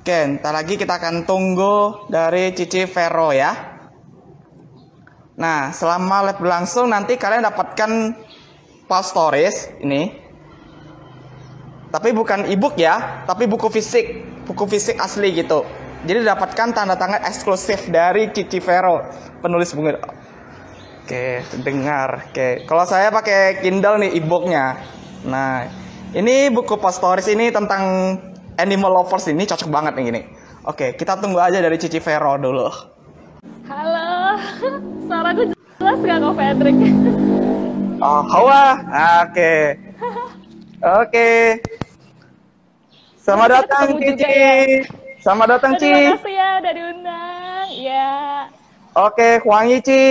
Oke, ntar lagi kita akan tunggu dari Cici Vero ya. Nah, selama live berlangsung nanti kalian dapatkan file storage ini. Tapi bukan ebook ya, tapi buku fisik asli gitu. Jadi dapatkan tanda tangan eksklusif dari Cici Vero, penulis buku. Oke, dengar. Oke, kalau saya pakai Kindle nih ebooknya. Nah, ini buku file storage ini tentang animal lovers ini cocok banget nih gini. Oke, kita tunggu aja dari Cici Vero dulu. Halo, suaraku jelas gak kok Fredrik? Oh, Hawa. Oke. Oke. Selamat datang Cici. Ya. Selamat datang Ci. Terima kasih ya udah diundang. Ya. Oke, Wangi Ci.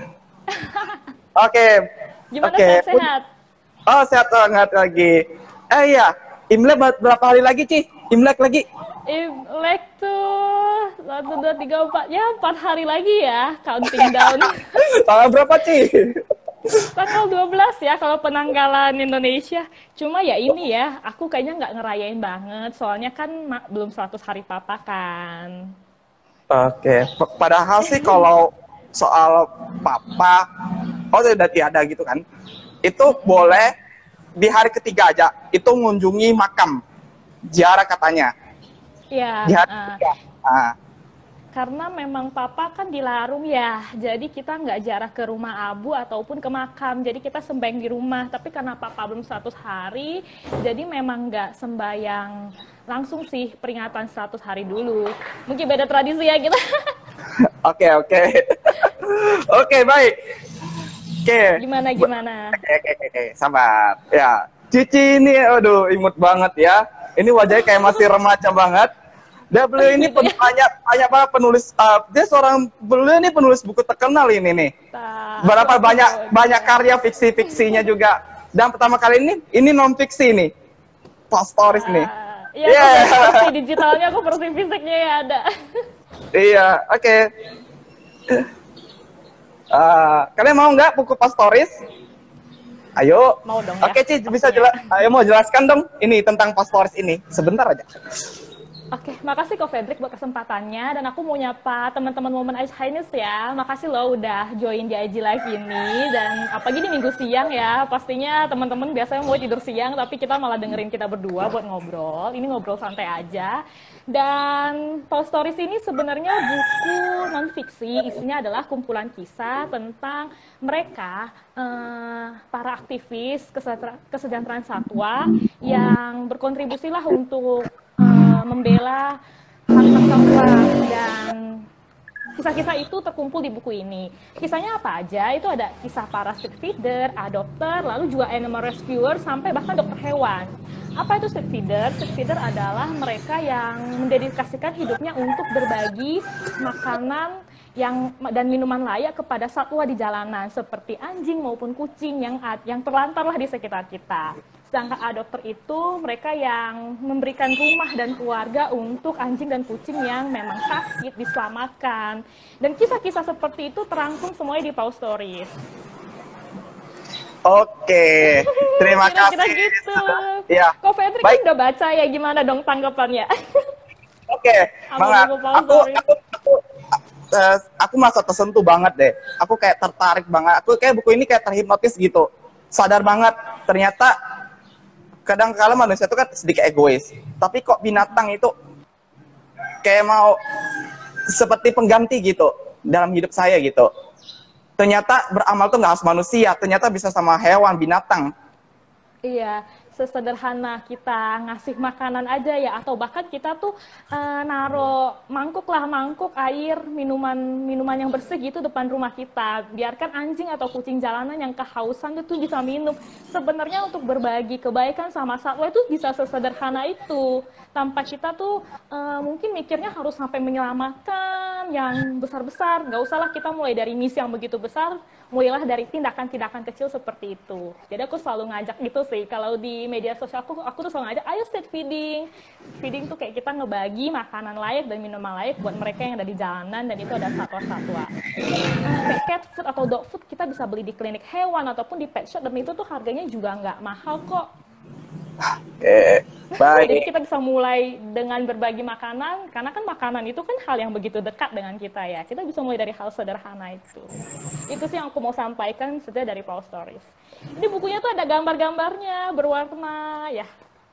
Oke. Gimana sehat-sehat? Oh, sehat banget lagi. Iya, Imlek berapa hari lagi Ci? Imlek lagi? Imlek tuh 1, 2, 3, 4. Ya 4 hari lagi ya, counting down. Tanggal berapa Ci? Tanggal 12 ya kalau penanggalan Indonesia. Cuma ya ini ya, aku kayaknya nggak ngerayain banget. Soalnya kan belum 100 hari papa kan. Oke, padahal sih kalau soal papa, udah tiada gitu kan. Itu boleh di hari ketiga aja, itu mengunjungi makam. Ziarah katanya. Iya. Di hari ketiga. Karena memang papa kan dilarung ya, jadi kita nggak jarah ke rumah abu ataupun ke makam, jadi kita sembahyang di rumah. Tapi karena papa belum 100 hari, jadi memang nggak sembahyang langsung sih, peringatan 100 hari dulu. Mungkin beda tradisi ya kita. Oke. Oke, baik. Oke. Gimana? Oke, sabar. Ya, Cici ini, aduh, imut banget ya. Ini wajahnya kayak masih remaja banget. Dan beliau ini banyak banget penulis. Beliau ini penulis buku terkenal ini nih. Berapa banyak karya fiksi-fiksinya juga. Dan pertama kali ini non fiksi nih, file storage nih. Iya, versi digitalnya, aku versi fisiknya ya ada. Iya, oke. Kalian mau nggak buku file storage? Ayo. Mau dong ya. Oke, Ci, bisa ayo mau jelaskan dong ini tentang file storage ini. Sebentar aja. Oke, makasih Ko Fredrik buat kesempatannya, dan aku mau nyapa teman-teman Women Age Highness ya. Makasih loh udah join di IG Live ini, dan apalagi di minggu siang ya. Pastinya teman-teman biasanya mau tidur siang, tapi kita malah dengerin kita berdua buat ngobrol. Ini ngobrol santai aja. Dan File Stories ini sebenarnya buku non-fiksi, isinya adalah kumpulan kisah tentang mereka, para aktivis kesejahteraan satwa yang berkontribusi lah untuk membela hak-hak satwa, dan kisah-kisah itu terkumpul di buku ini. Kisahnya apa aja? Itu ada kisah para street feeder, adopter, lalu juga animal rescuer, sampai bahkan dokter hewan. Apa itu street feeder? Street feeder adalah mereka yang mendedikasikan hidupnya untuk berbagi makanan dan minuman layak kepada satwa di jalanan, seperti anjing maupun kucing yang terlantar lah di sekitar kita. Sedangkan adopter itu mereka yang memberikan rumah dan keluarga untuk anjing dan kucing yang memang sakit, diselamatkan. Dan kisah-kisah seperti itu terangkum semuanya di File Stories. Oke, terima kasih. Kira-kira gitu. Ya. Kok Fredrik kan udah baca ya, gimana dong tanggapannya? Oke, banget. Aku merasa tersentuh banget deh. Aku kayak tertarik banget. Aku kayak buku ini kayak terhipnotis gitu. Sadar banget, ternyata kadang-kala manusia itu kan sedikit egois. Tapi kok binatang itu kayak mau seperti pengganti gitu dalam hidup saya gitu. Ternyata beramal tuh nggak harus manusia, ternyata bisa sama hewan, binatang. Iya, sesederhana kita ngasih makanan aja ya, atau bahkan kita tuh naro mangkuk air, minuman yang bersih gitu depan rumah kita. Biarkan anjing atau kucing jalanan yang kehausan itu bisa minum. Sebenarnya untuk berbagi kebaikan sama satwa itu bisa sesederhana itu. Tanpa kita tuh mungkin mikirnya harus sampai menyelamatkan yang besar-besar. Nggak usahlah kita mulai dari misi yang begitu besar, mulailah dari tindakan-tindakan kecil seperti itu. Jadi aku selalu ngajak gitu sih, kalau di media sosial aku tuh selalu ngajak, ayo street feeding. Feeding tuh kayak kita ngebagi makanan layak dan minuman layak buat mereka yang ada di jalanan, dan itu ada satwa-satwa. Kayak cat food atau dog food kita bisa beli di klinik hewan ataupun di pet shop, dan itu tuh harganya juga nggak mahal kok. Oke, Jadi baik. kita bisa mulai dengan berbagi makanan, karena kan makanan itu kan hal yang begitu dekat dengan kita ya. Kita bisa mulai dari hal sederhana itu. Itu sih yang aku mau sampaikan sebenarnya dari Paul Stories. Ini bukunya tuh ada gambar-gambarnya, berwarna, ya.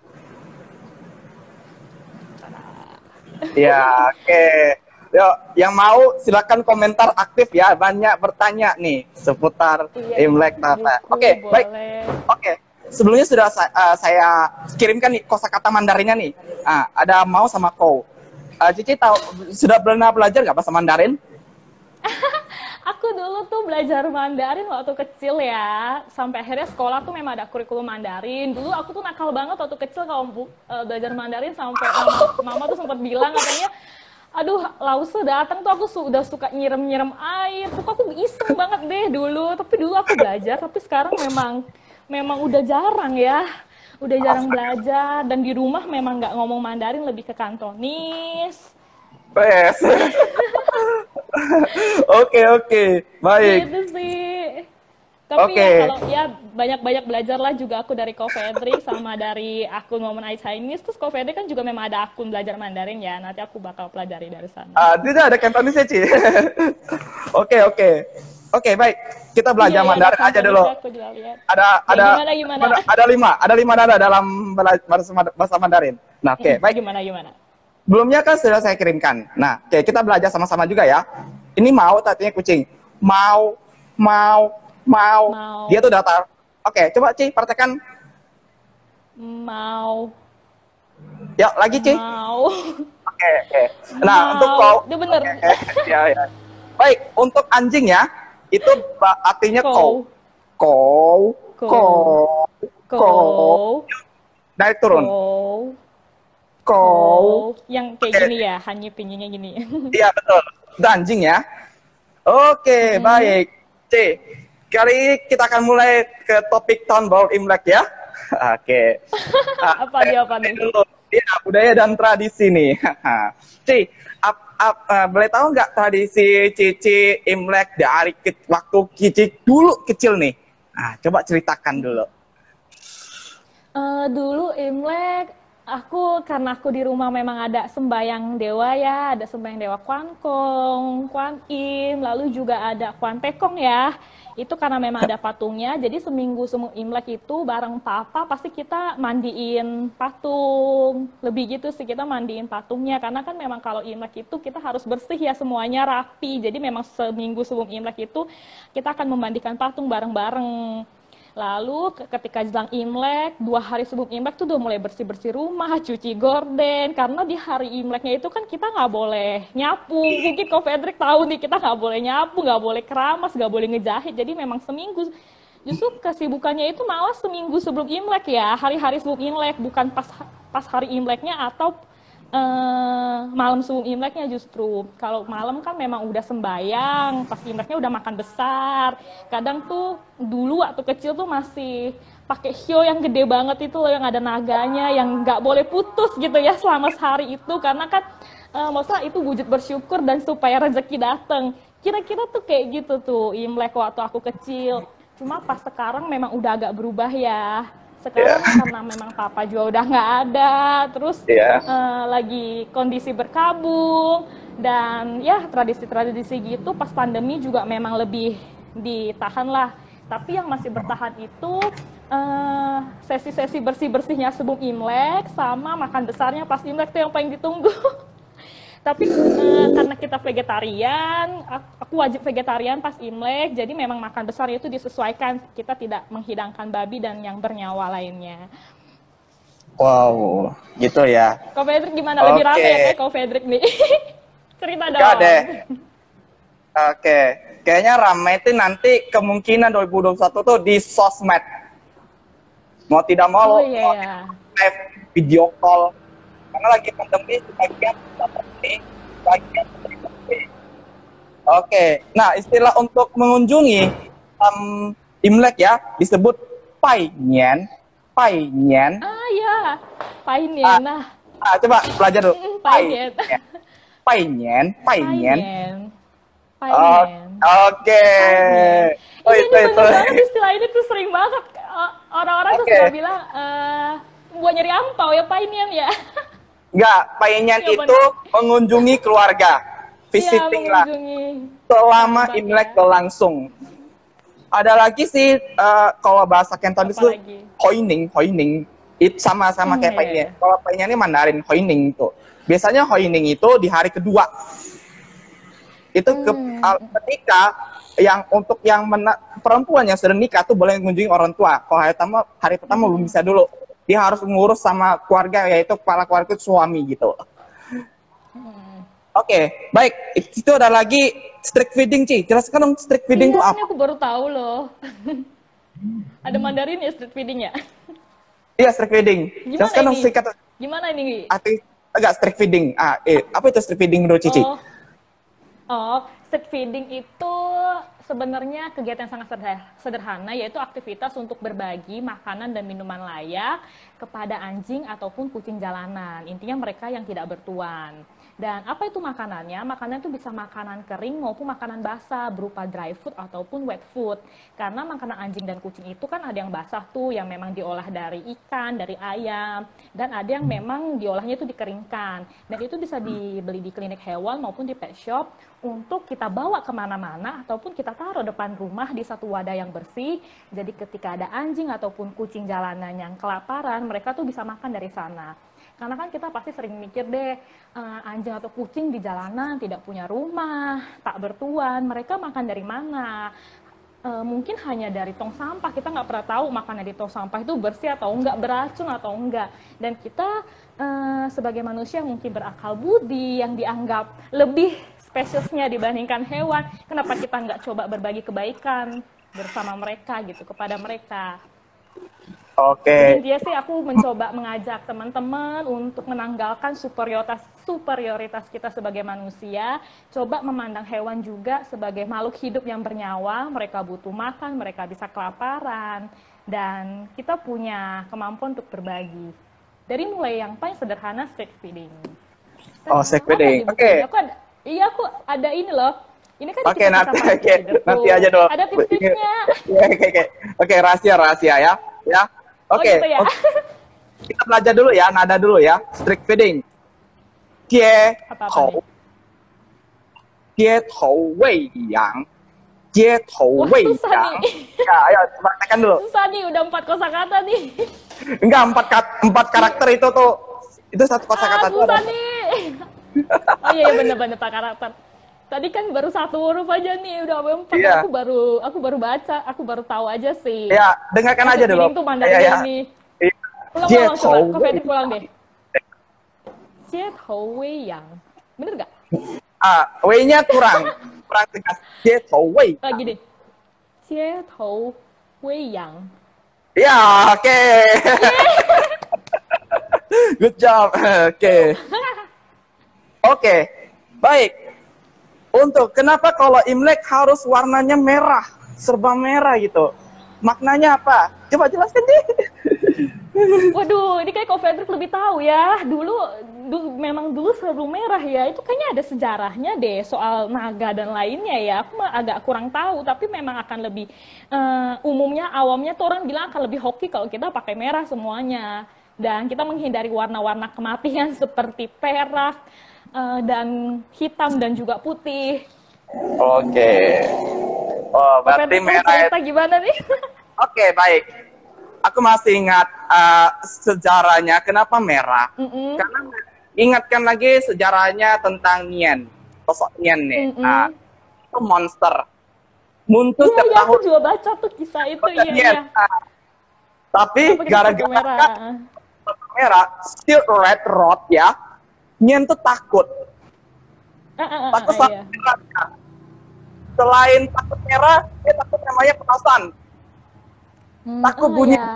Ya, oke. Yuk, yang mau silakan komentar aktif ya. Banyak bertanya nih seputar Iya, Imlek Tata. buku Oke, baik. boleh. Oke. Sebelumnya sudah saya kirimkan nih kosakata Mandarinnya nih. Ada mau sama kau. Cici tahu sudah pernah belajar nggak bahasa Mandarin? Aku dulu tuh belajar Mandarin waktu kecil ya. Sampai akhirnya sekolah tuh memang ada kurikulum Mandarin. Dulu aku tuh nakal banget waktu kecil kalau belajar Mandarin sampai mama tuh sempat bilang katanya, aduh, Lause datang tuh aku udah suka nyirem-nyirem air. Tuh aku iseng banget deh dulu. Tapi dulu aku belajar, tapi sekarang memang udah jarang ya. Udah jarang belajar dan di rumah memang nggak ngomong Mandarin, lebih ke Kantonis. Yes. Oke, oke. Baik. Gitu sih. Tapi Oke. ya kalau ya banyak-banyak belajarlah juga aku dari Ko Fedrik sama dari akun Momen I Chinese. Terus Ko Fedrik kan juga memang ada akun belajar Mandarin ya. Nanti aku bakal pelajari dari sana. Tidak ada Cantonese, Ci. Oke, oke. Oke, baik. Kita belajar Iya, ada Mandarin aja dulu. Cantonisnya aku juga lihat. Ada Gimana? ada lima nada dalam bahasa Mandarin. Nah, oke, baik. Gimana? Sebelumnya kan sudah saya kirimkan. Nah, oke, kita belajar sama-sama juga ya. Ini mau artinya kucing. Mau, mau, mau. Mau. Dia tuh datar. Oke, coba Ci, praktekkan. Mau. Ya, lagi Ci. Mau. Oke, oke. Nah, Mau. untuk kau. Dia bener. Ya, ya. Baik, untuk anjing ya, itu artinya kau. Kau, kau, kau. Naik turun. Kau. Yang kayak gini ya, hanya pinyinya gini. Iya, betul. Itu anjing ya. Oke, baik. C. Kali ini kita akan mulai ke topik tahun baru Imlek ya. Oke. Apa nih? Ya, budaya dan tradisi nih. C, boleh tahu nggak tradisi Cici Imlek dari waktu Cici dulu kecil nih? Nah, coba ceritakan dulu. Dulu Imlek, karena aku di rumah memang ada sembayang dewa ya, ada sembayang dewa Kwan Kong, Kwan Im, lalu juga ada Kwan Tekong ya. Itu karena memang ada patungnya, jadi seminggu sebelum Imlek itu bareng papa pasti kita mandiin patung. Lebih gitu sih, kita mandiin patungnya, karena kan memang kalau Imlek itu kita harus bersih ya, semuanya rapi. Jadi memang seminggu sebelum Imlek itu kita akan memandikan patung bareng-bareng. Lalu ketika jelang Imlek, 2 hari sebelum Imlek tuh udah mulai bersih-bersih rumah, cuci gorden. Karena di hari Imleknya itu kan kita nggak boleh nyapu. Mungkin Ko Fedrik tahu nih, kita nggak boleh nyapu, nggak boleh keramas, nggak boleh ngejahit. Jadi memang seminggu. Justru kesibukannya itu malah seminggu sebelum Imlek ya, hari-hari sebelum Imlek, bukan pas hari Imleknya atau malam sebelum Imleknya justru. Kalau malam kan memang udah sembayang, pas Imleknya udah makan besar. Kadang tuh dulu waktu kecil tuh masih pakai hio yang gede banget itu loh, yang ada naganya, yang nggak boleh putus gitu ya selama sehari itu, karena kan maksudnya itu wujud bersyukur dan supaya rezeki datang. Kira-kira tuh kayak gitu tuh Imlek waktu aku kecil. Cuma pas sekarang memang udah agak berubah ya. Sekarang karena memang papa juga udah nggak ada, terus lagi kondisi berkabung, dan ya tradisi-tradisi gitu pas pandemi juga memang lebih ditahan lah. Tapi yang masih bertahan itu sesi-sesi bersih-bersihnya sebelum Imlek sama makan besarnya pas Imlek tuh yang paling ditunggu. Tapi karena kita vegetarian, aku wajib vegetarian pas Imlek, jadi memang makan besar itu disesuaikan, kita tidak menghidangkan babi dan yang bernyawa lainnya. Wow, gitu ya. Ko Fedrik gimana? Lebih rame ya kayak Ko Fedrik nih. Cerita dong. Enggak deh. Oke, kayaknya rame itu nanti kemungkinan 2021 tuh di sosmed. Mau tidak mau, live video call. Karena lagi pandemi, sebagian Oke, nah istilah untuk mengunjungi Imlek ya disebut Pai Nian. Ya, Pai Nian. Coba belajar dulu. Pai Nian. Oke. Ini banget istilah ini tuh sering banget orang-orang tuh suka bilang buat nyari ampau ya painian ya. Enggak, painyan Iya, itu mengunjungi keluarga. Iya, Visiting lah. mengunjungi. Selama Kerabat Imlek ya. berlangsung. Ada lagi sih kalau bahasa Cantonese itu Apalagi? Hoining. Itu sama-sama kayak Iya. painnya. Kalau painnya ini Mandarin Hoining itu. Biasanya Hoining itu di hari kedua. Itu ketika untuk yang perempuan yang sudah nikah tuh boleh mengunjungi orang tua. Kalau hari pertama belum bisa dulu. Dia harus mengurus sama keluarga, yaitu kepala keluarga itu suami gitu. Oke, baik. Itu ada lagi streak feeding, Ci. Jelaskan dong streak feeding itu Iya, apa? ini aku baru tahu loh. Ada Mandarin ya street feeding ya? Iya, streak feeding. Gimana Jelaskan dong ini? singkat. Gimana ini? Agak streak feeding. Apa itu streak feeding menurut Cici? Street feeding itu sebenarnya kegiatan yang sangat sederhana, yaitu aktivitas untuk berbagi makanan dan minuman layak kepada anjing ataupun kucing jalanan. Intinya mereka yang tidak bertuan. Dan apa itu makanannya? Makanan itu bisa makanan kering maupun makanan basah berupa dry food ataupun wet food. Karena makanan anjing dan kucing itu kan ada yang basah tuh, yang memang diolah dari ikan, dari ayam, dan ada yang memang diolahnya itu dikeringkan. Dan itu bisa dibeli di klinik hewan maupun di pet shop untuk kita bawa kemana-mana ataupun kita taruh depan rumah di satu wadah yang bersih. Jadi ketika ada anjing ataupun kucing jalanan yang kelaparan, mereka tuh bisa makan dari sana. Karena kan kita pasti sering mikir deh, anjing atau kucing di jalanan tidak punya rumah, tak bertuan, mereka makan dari mana? Mungkin hanya dari tong sampah, kita nggak pernah tahu makanan di tong sampah itu bersih atau enggak, beracun atau enggak. Dan kita sebagai manusia mungkin berakal budi yang dianggap lebih spesiesnya dibandingkan hewan, kenapa kita nggak coba berbagi kebaikan bersama mereka gitu, kepada mereka. Oke. Intinya sih aku mencoba mengajak teman-teman untuk menanggalkan superioritas kita sebagai manusia, coba memandang hewan juga sebagai makhluk hidup yang bernyawa, mereka butuh makan, mereka bisa kelaparan, dan kita punya kemampuan untuk berbagi. Dari mulai yang paling sederhana, street feeding. Street feeding. Oke. Aku ada ini loh. Ini kan Oke, nanti aja dong. Ada tips-tipsnya. Oke, rahasia ya. Ya. Oke. Gitu ya? Kita belajar dulu ya, nada dulu ya. Streak feeding. Jie tou. Jie tou wei yang. Jie tou wei yang. Ya, ayo praktekkan dulu. Susah nih, udah 4 kosakata nih. Enggak, 4 karakter itu tuh. Itu satu kosakata tuh. Susah nih. Oh iya, bener-bener Pak karakter. Tadi kan baru 1 huruf aja nih, udah 4. Iya. Aku baru baca, aku baru tahu aja sih. Ya, dengarkan aja dulu. Itu Mandarin ini. Ulang, coba. Kok Fedrik pulang deh. Jie tou wei yang. Bener gak? Wei-nya kurang tegas. Jie tou wei. Lagi deh. Jie tou wei yang. Ya, oke. Good job. Oke. Baik. Untuk kenapa kalau Imlek harus warnanya merah, serba merah gitu? Maknanya apa? Coba jelaskan deh. Waduh, ini kayak Ko Fedrik lebih tahu ya. Memang dulu selalu merah ya. Itu kayaknya ada sejarahnya deh soal naga dan lainnya ya. Aku mah agak kurang tahu, tapi memang akan lebih umumnya awamnya tuh orang bilang akan lebih hoki kalau kita pakai merah semuanya. Dan kita menghindari warna-warna kematian seperti perak, dan hitam dan juga putih. Oke. Oh, berarti merah. Cerita gimana nih? Oke, baik. Aku masih ingat sejarahnya kenapa merah. Karena ingatkan lagi sejarahnya tentang Nian. Sosok Nian nih. Nah, itu monster. Muncul Iya, setiap aku tahun. juga baca tuh kisah itu. Iya. Tapi gara-gara merah, still red rod ya. Nian tuh takut. Takut sama iya. merah. Selain takut merah, dia takut namanya petasan. Takut bunyi. Iya.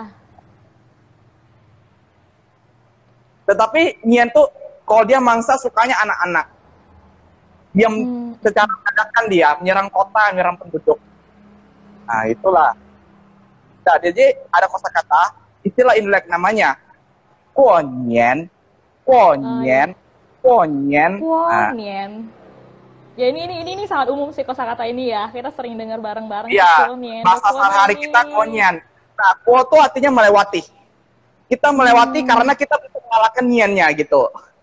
Tetapi Nian tuh kalau dia mangsa sukanya anak-anak. Dia secara dadakan dia menyerang kota, menyerang penduduk. Nah, itulah. Nah, jadi ada kosakata istilah Imlek namanya Kuonyen. Kuonyen. Kuonyen. Kuonyen. Ya ini sangat umum sih kosakata ini ya. Kita sering dengar bareng-bareng. Iya, bahasa sehari-hari kita Kuonyen. Nah, kuo itu artinya melewati. kita melewati karena kita bisa mengalahkan niannya gitu.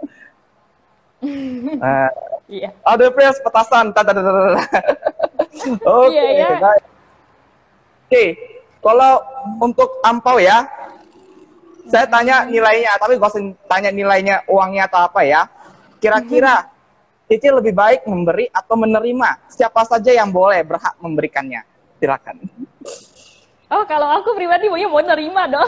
Iya. Ada press petasan. Oke, Iya, ya. baik. Oke, kalau untuk ampau ya, saya tanya nilainya, tapi gak usah tanya nilainya uangnya atau apa ya. Kira-kira Cici lebih baik memberi atau menerima? Siapa saja yang boleh berhak memberikannya? Silakan. Oh, kalau aku pribadi mau nerima dong.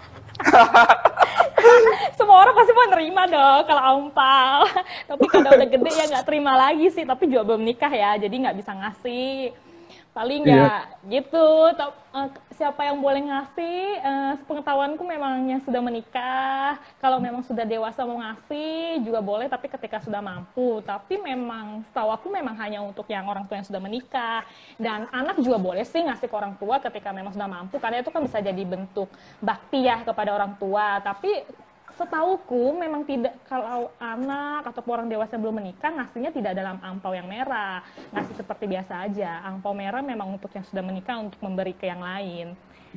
Semua orang pasti mau nerima dong kalau ampau. Tapi kalau udah gede ya nggak terima lagi sih. Tapi juga belum nikah ya, jadi nggak bisa ngasih. Paling ya gitu. Siapa yang boleh ngasih? Sepengetahuanku memang yang sudah menikah. Kalau memang sudah dewasa mau ngasih juga boleh, tapi ketika sudah mampu. Tapi memang setahu aku memang hanya untuk yang orang tua yang sudah menikah. Dan anak juga boleh sih ngasih ke orang tua ketika memang sudah mampu, karena itu kan bisa jadi bentuk bakti ya kepada orang tua. Tapi setauku memang tidak, kalau anak atau orang dewasa belum menikah ngasihnya tidak dalam angpau yang merah, ngasih seperti biasa aja. Angpau merah memang untuk yang sudah menikah untuk memberi ke yang lain.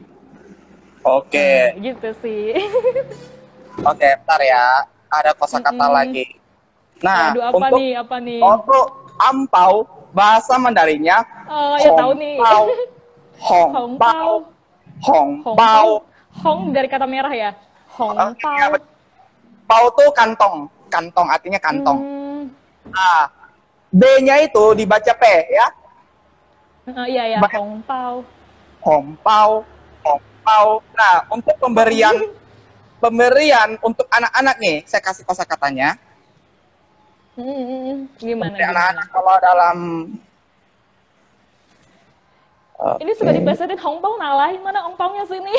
Oke. Gitu sih. Oke, bentar ya. Ada kosakata lagi. Nah, Aduh, apa nih? Untuk ampau, bahasa Mandarinnya Oh, ya tahu nih. Hongpao. Hongpao. Hong dari kata merah ya. Hongpao. Pao tuh kantong. Kantong artinya kantong. Nah, B-nya itu dibaca P ya. Iya ya, hongpao. Hongpao. Hongpao. Nah, untuk pemberian untuk anak-anak nih, saya kasih kosakatanya. Gimana? Anak-anak kalau dalam ini sudah dipesetin hongpao nalahin, mana hongpaonya sini?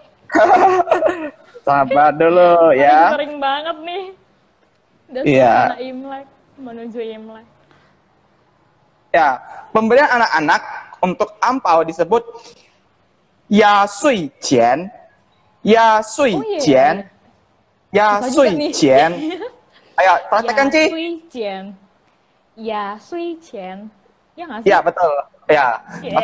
Sabar dulu ya. Sering banget nih. Udah Iya. Imlek, menuju Imlek. Ya, pemberian anak-anak untuk ampau disebut ya sui jian. Ya sui jian. Ya sui jian. Ayo, praktekkan, Ci. Ya sui jian. Ya sui jian. Ya nggak sih? Ya, betul. Ya.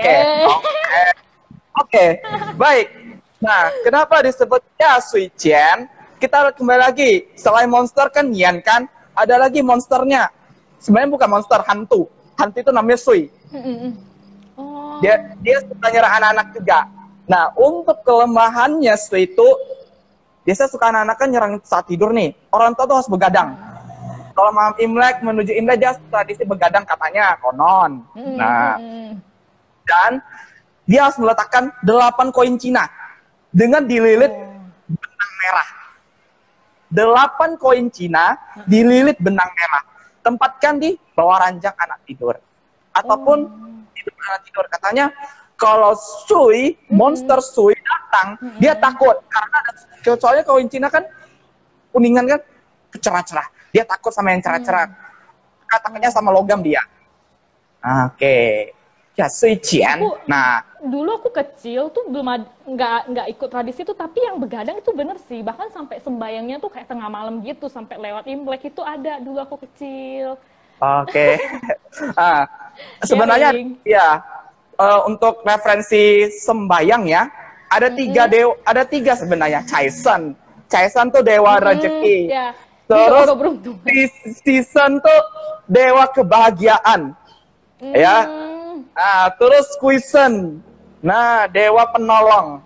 Oke. Baik. Nah, kenapa disebut ya sui jian? Kita kembali lagi. Selain monster kan Yan kan, ada lagi monsternya. Sebenarnya bukan monster, hantu. Hantu itu namanya sui. Oh. Dia suka nyerang anak-anak juga. Nah, untuk kelemahannya sui itu, biasa suka anak-anak kan nyerang saat tidur nih. Orang tua tuh harus begadang. Kalau malam Imlek menuju Imlek dia tradisi begadang katanya, konon. Nah, dan dia harus meletakkan 8 koin Cina dengan dililit benang merah. 8 koin Cina dililit benang merah. Tempatkan di bawah ranjang anak tidur. Ataupun di depan anak tidur. Katanya, kalau sui, monster sui datang, dia takut. Karena soalnya koin Cina kan, kuningan kan, cerah-cerah. Dia takut sama yang cerah-cerah. Katanya sama logam dia. Oke. Ya, sui jian. Nah, dulu aku kecil tuh belum nggak ikut tradisi itu, tapi yang begadang itu bener sih, bahkan sampai sembayangnya tuh kayak tengah malam gitu, sampai lewat Imlek itu ada dulu aku kecil. Oke. Sebenarnya ya untuk referensi sembayang ya, ada tiga sebenarnya. Caisan tuh dewa rezeki. Ya. Terus Season tuh dewa kebahagiaan. Ya. Nah, terus Kuisen. Nah, dewa penolong.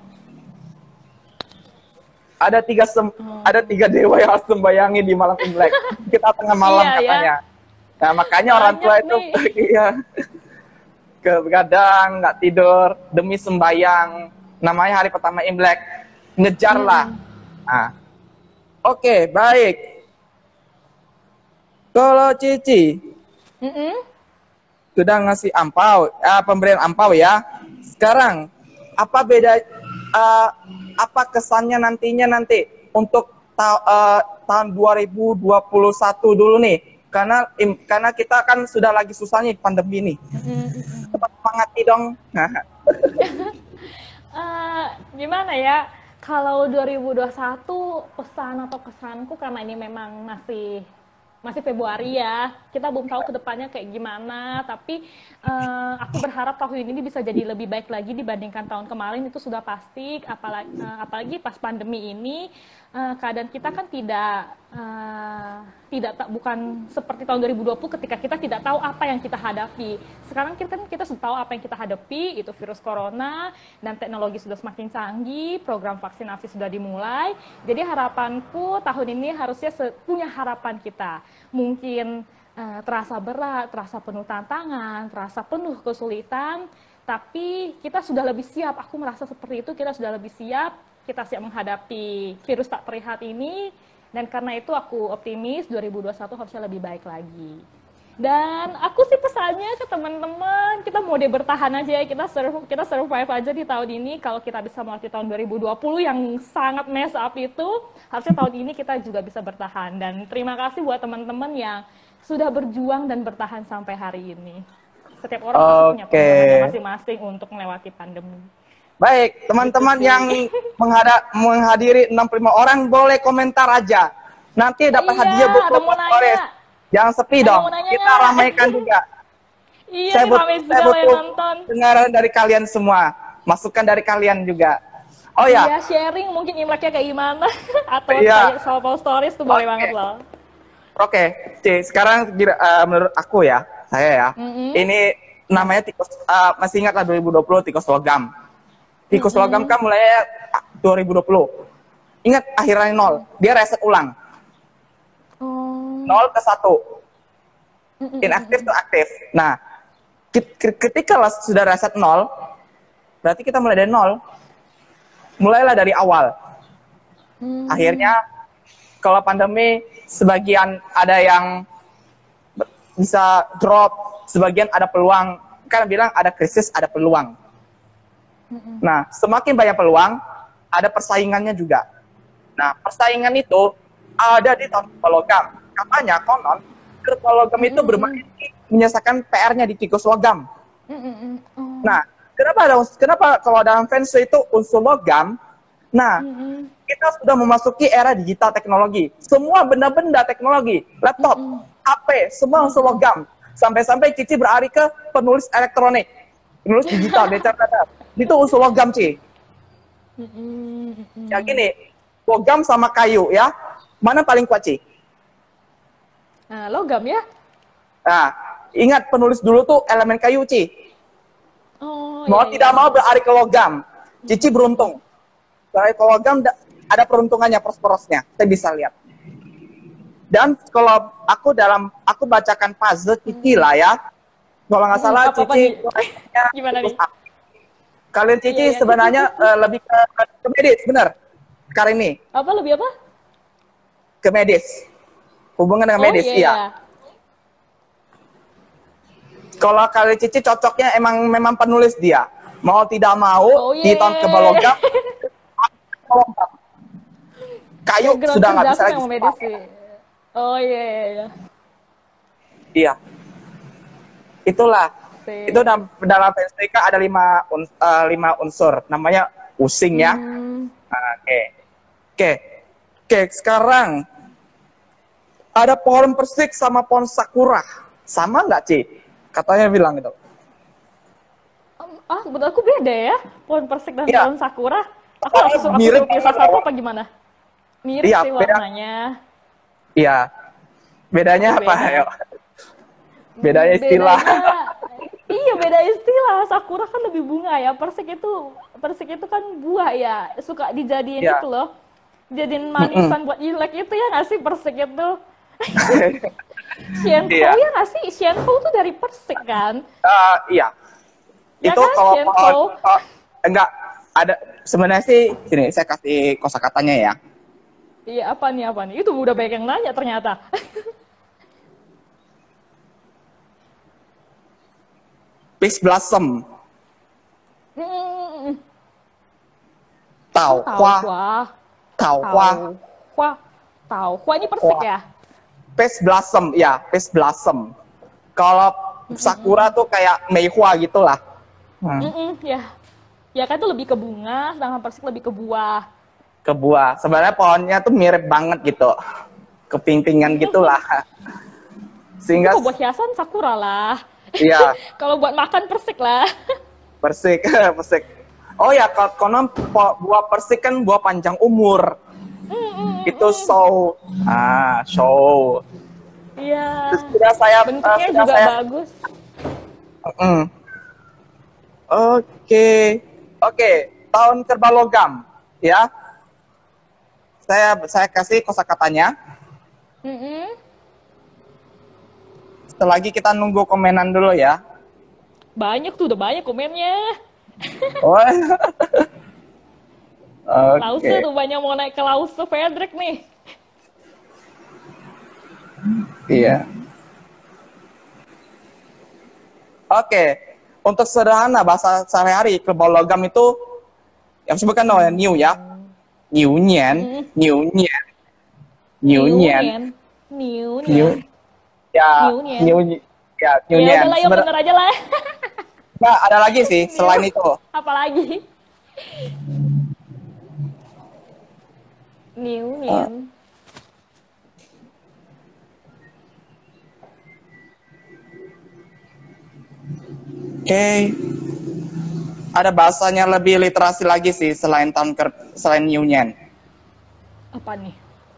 Ada tiga dewa yang harus sembayangi di malam Imlek. Kita tengah malam katanya. Nah, makanya orang tua itu ke begadang, nggak tidur demi sembayang. Namanya hari pertama Imlek. Ngejarlah. Nah. Oke, baik. Kalau Cici sudah ngasih pemberian ampau ya. Sekarang apa beda? Apa kesannya nanti untuk tahun 2021 dulu nih? Karena kita kan sudah lagi susahnya pandemi nih. Tetap semangati dong. Gimana ya? Kalau 2021 pesan atau kesanku, karena ini memang masih masih Februari ya, kita belum tahu kedepannya kayak gimana, tapi aku berharap tahun ini bisa jadi lebih baik lagi dibandingkan tahun kemarin, itu sudah pasti, apalagi pas pandemi ini, keadaan kita kan bukan seperti tahun 2020 ketika kita tidak tahu apa yang kita hadapi. Sekarang kita sudah tahu apa yang kita hadapi, itu virus corona, dan teknologi sudah semakin canggih, program vaksinasi sudah dimulai, jadi harapanku tahun ini harusnya punya harapan kita. Mungkin terasa berat, terasa penuh tantangan, terasa penuh kesulitan, tapi kita sudah lebih siap. Aku merasa seperti itu, kita sudah lebih siap, kita siap menghadapi virus tak terlihat ini, dan karena itu aku optimis 2021 harusnya lebih baik lagi. Dan aku sih pesannya ke teman-teman, kita mode bertahan aja ya, kita survive aja di tahun ini. Kalau kita bisa melewati tahun 2020 yang sangat mess up itu, harusnya tahun ini kita juga bisa bertahan. Dan terima kasih buat teman-teman yang sudah berjuang dan bertahan sampai hari ini. Setiap orang pasti punya pengalaman masing-masing untuk melewati pandemi. Baik, teman-teman yang menghadiri 65 orang boleh komentar aja. Nanti dapat hadiah buku Postores. Jangan sepi dong, kita ramaikan juga. Iya, saya butuh nonton. dengaran dari kalian semua, masukan dari kalian juga. Oh ya. Iya, sharing mungkin Imleknya kayak gimana, atau kayak soal Stories tuh boleh banget loh. Oke, sekarang menurut aku ya, saya ya, ini namanya tikus, masih ingat lah 2020 tikus logam. Tikus logam kan mulai 2020. Ingat akhirnya 0, dia reset ulang. 0 ke 1. Inaktif ke aktif. Nah, ketika sudah reset 0, berarti kita mulai dari 0. Mulailah dari awal. Akhirnya, kalau pandemi, sebagian ada yang bisa drop, sebagian ada peluang. Kan bilang ada krisis, ada peluang. Nah, semakin banyak peluang, ada persaingannya juga. Nah, persaingan itu ada di tahun logam. Katanya konon logam itu bermain menyelesaikan PR-nya di tikus logam. Nah, kenapa kalau dalam feng shui itu unsur logam? Nah, kita sudah memasuki era digital teknologi. Semua benda-benda teknologi, laptop, HP, semua unsur logam. Sampai-sampai Cici beralih ke penulis elektronik, penulis digital, itu unsur logam, Ci. Ya gini, logam sama kayu ya. Mana paling kuat, Ci? Nah, logam ya? Nah, ingat penulis dulu tuh elemen kayu, Ci. Mau tidak mau beralih ke logam. Cici beruntung. Beralih ke logam ada peruntungannya, pros-prosnya. Saya bisa lihat. Dan kalau aku bacakan puzzle Cici lah ya. Kalau nggak salah Cici gimana nih? Kalian Cici sebenarnya lebih ke medis, benar? Sekarang ini. Apa lebih apa? Ke medis. Hubungan dengan medis, iya. Kalau kalian Cici cocoknya memang penulis dia. Mau tidak mau di tahun ke logam. Kayu ya, sudah nggak bisa lagi. Oh iya. Iya. Itulah. Itu dalam feng shui ada 5 unsur. Namanya using ya. Oke. Sekarang ada pohon persik sama pohon sakura. Sama nggak, Ci? Katanya bilang gitu. Menurut aku beda ya. Pohon persik dan pohon sakura. Aku langsung mirip satu apa gimana? Mirip sih warnanya. Iya. Bedanya apa? Ayo. Bedanya istilah. Iya, beda istilah. Sakura kan lebih bunga ya. Persik itu kan buah ya. Suka dijadiin itu loh. Jadiin manisan buat Imlek itu ya nggak sih persik itu? Xianfu ya nggak sih? Xianfu tuh dari persik kan? Iya. Ya itu kan, kalau enggak ada sebenarnya sih sini saya kasih kosakatanya ya. Iya, apa nih? Itu udah banyak yang nanya ternyata. Peach blossom. Tau Hua ini persik ya? Peach blossom, ya, peach blossom. Kalau sakura tuh kayak meihua gitulah. Ya kan itu lebih ke bunga, sedangkan persik lebih ke buah. Ke buah. Sebenarnya pohonnya tuh mirip banget gitu. keping-pingan gitulah. Sehingga Kalau buat hiasan sakura lah. iya, Kalau buat makan persik lah. persik, persik. Oh ya, konon buah persik kan buah panjang umur. Itu show. Show. Iya. Terus sudah saya Bentuknya sudah juga saya bagus. Oke, tahun kerbau logam, ya. Saya kasih kosakatanya. Selagi kita nunggu komenan dulu ya. Banyak tuh, udah banyak komennya. Oh. Lause Oke. tuh banyak mau naik ke Lause Frederick nih. Iya. Oke, untuk sederhana bahasa sehari-hari kerbau logam itu yang sebutkan namanya new ya, new nian, new nian, new nian, New new ya, New nian. new ya, new Ya nian. udah lah, yang bener aja lah. Nah, ada lagi sih selain itu. Apalagi? New nian. Oke, ada bahasanya lebih literasi lagi sih selain selain new nian. Apa nih?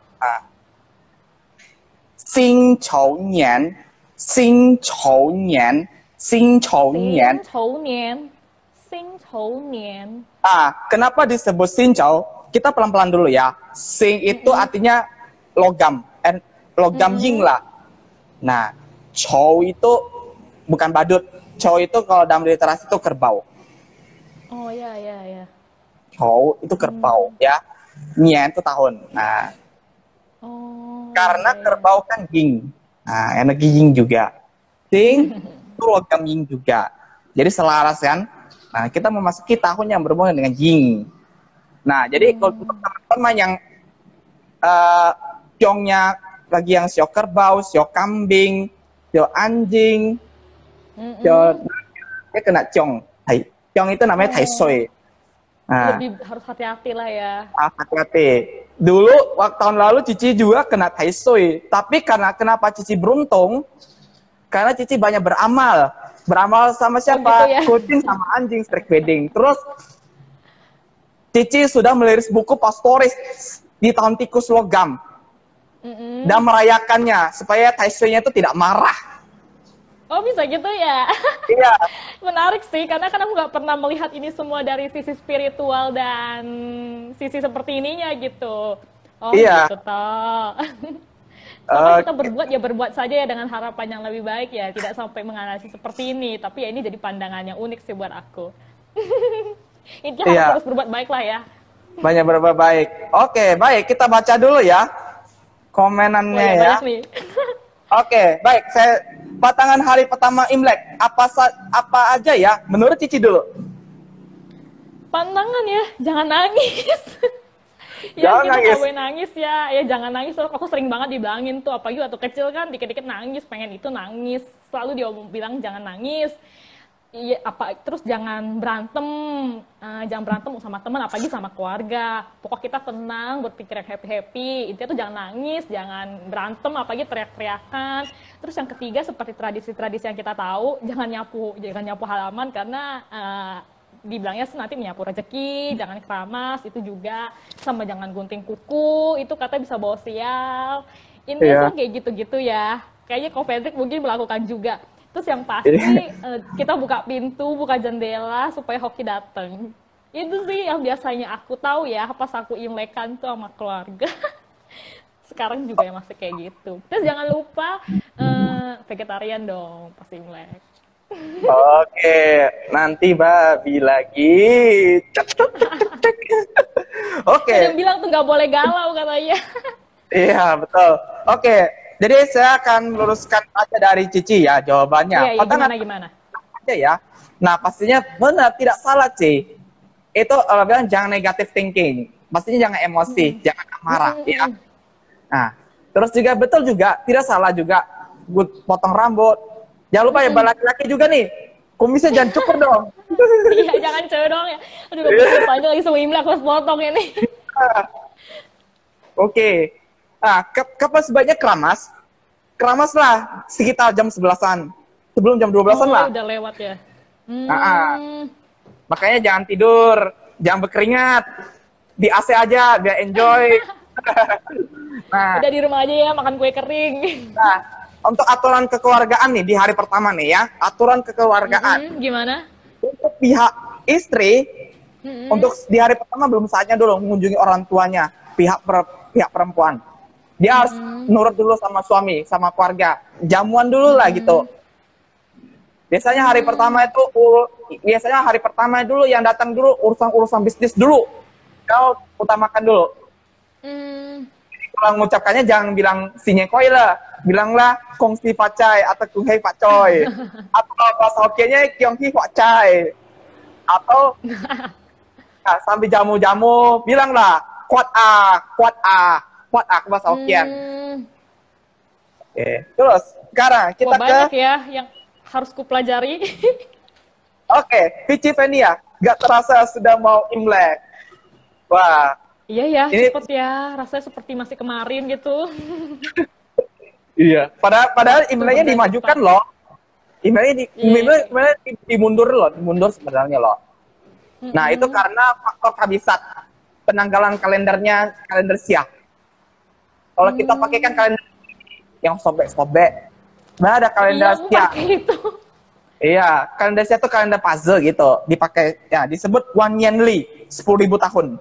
Xing Chou Nian, Xing Chou Nian, Xing Chou Nian. Sing Chou Nian. Kenapa disebut Xing Chou? Kita pelan-pelan dulu ya. Xing itu artinya logam, logam ying lah. Nah, Chou itu bukan badut. Chou itu kalau dalam literasi itu kerbau. Oh ya. Chou itu kerbau ya. Nian itu tahun. Nah, karena kerbau kan ying. Nah, energi ying juga. Xing itu logam ying juga. Jadi selaras kan. Nah, kita memasuki tahun yang berhubungan dengan ying. Nah, jadi kalau untuk teman-teman yang ciongnya lagi yang sio kerbau, sio kambing, sio anjing, dia kena ciong. Ciong itu namanya tai sui. Nah, Lebih harus hati-hati lah ya. hati-hati. Dulu waktu tahun lalu Cici juga kena tai sui. Tapi kenapa Cici beruntung? Karena Cici banyak beramal. Beramal sama siapa? gitu ya? Kucing sama anjing streak wedding. Terus Cici sudah meliris buku pastoris di tahun tikus logam. Dan merayakannya supaya tai sui-nya itu tidak marah. Oh bisa gitu ya? Iya. Menarik sih, karena kan aku nggak pernah melihat ini semua dari sisi spiritual dan sisi seperti ininya gitu. Oh Iya. gitu toh. Sama kita berbuat ya berbuat saja ya dengan harapan yang lebih baik ya, tidak sampai menganalisis seperti ini. Tapi ya ini jadi pandangan yang unik sih buat aku. Intinya Iya. harus berbuat baik lah ya. Banyak berbuat baik. Oke, baik. Kita baca dulu ya komenannya ya. Banyak nih. Oke, baik. Batangan hari pertama Imlek. Apa aja ya? Menurut Cici dulu. Pantangan ya, jangan nangis. Jangan kita nangis. nggak boleh nangis ya. Ya jangan nangis. Aku sering banget dibilangin tuh, apalagi waktu kecil kan dikit-dikit nangis, pengen itu nangis. Selalu dia bilang jangan nangis. Iya, terus jangan berantem sama teman, apalagi sama keluarga. Pokok kita tenang, berpikir yang happy. Intinya tuh jangan nangis, jangan berantem, apalagi teriak-teriakan. Terus yang ketiga seperti tradisi-tradisi yang kita tahu, jangan nyapu halaman karena dibilangnya nanti menyapu rezeki, jangan keramas itu juga, sama jangan gunting kuku, itu katanya bisa bawa sial. Intinya sih kayak gitu-gitu ya. Kayaknya Ko Frederick mungkin melakukan juga. Terus yang pasti kita buka pintu, buka jendela supaya hoki datang. Itu sih yang biasanya aku tahu ya pas aku imlekan tuh sama keluarga. Sekarang juga ya masih kayak gitu. Terus jangan lupa vegetarian dong pas imlek. Oke, nanti babi lagi. Oke. Ada yang bilang tuh nggak boleh galau katanya. Iya, betul. Oke, jadi saya akan meluruskan aja dari Cici ya jawabannya. Iya, gimana? Aja ya. Nah, pastinya benar, tidak salah, Ci. Itu bilang jangan negative thinking. Pastinya jangan emosi, jangan marah, ya. Nah, terus juga betul juga, tidak salah juga potong rambut. Jangan lupa ya, laki-laki juga nih. Kumisnya jangan cukur dong. Iya, jangan cewek dong ya. Aduh, kumisnya panjang lagi semua imlek harus potong ini. Oke. Kapan sebaiknya keramas? Keramas lah sekitar jam 11-an. Sebelum jam 12-an lah. Udah lewat ya. Makanya jangan tidur, jangan berkeringat. Di AC aja biar enjoy. Udah di rumah aja ya, makan kue kering. Nah, untuk aturan kekeluargaan nih di hari pertama nih ya, aturan kekeluargaan. Gimana? Untuk pihak istri, untuk di hari pertama belum saatnya dulu mengunjungi orang tuanya, pihak perempuan. Dia harus nurut dulu sama suami, sama keluarga. Jamuan dulu lah gitu. Biasanya hari pertama dulu yang datang dulu urusan bisnis dulu. Kau utamakan dulu. Kalau mengucapkannya jangan bilang sinyekoi lah, bilanglah kongsi pacai atau kunghei pacoy. Atau bahasa Hokkien-nya kyonghi pacai. Atau sambil jamu-jamu bilanglah kuat ke bahasa Hokkien. Oke. Terus sekarang kita banyak ya yang harus kupelajari. Oke, Vici Venia, gak terasa sudah mau Imlek. Wah. Iya ya, cepet ya. Rasanya seperti masih kemarin gitu. Iya. Padahal Imleknya dimajukan loh. Imleknya dimundur sebenarnya loh. Nah, itu karena faktor kabisat. Penanggalan kalender Siak. Kalau kita pakai kan kalender yang sobek-sobek. Nah, ada kalender Siak. Iya, kalender Siak itu kalender puzzle gitu. Dipakai, ya disebut Wan Yanli, 10.000 tahun.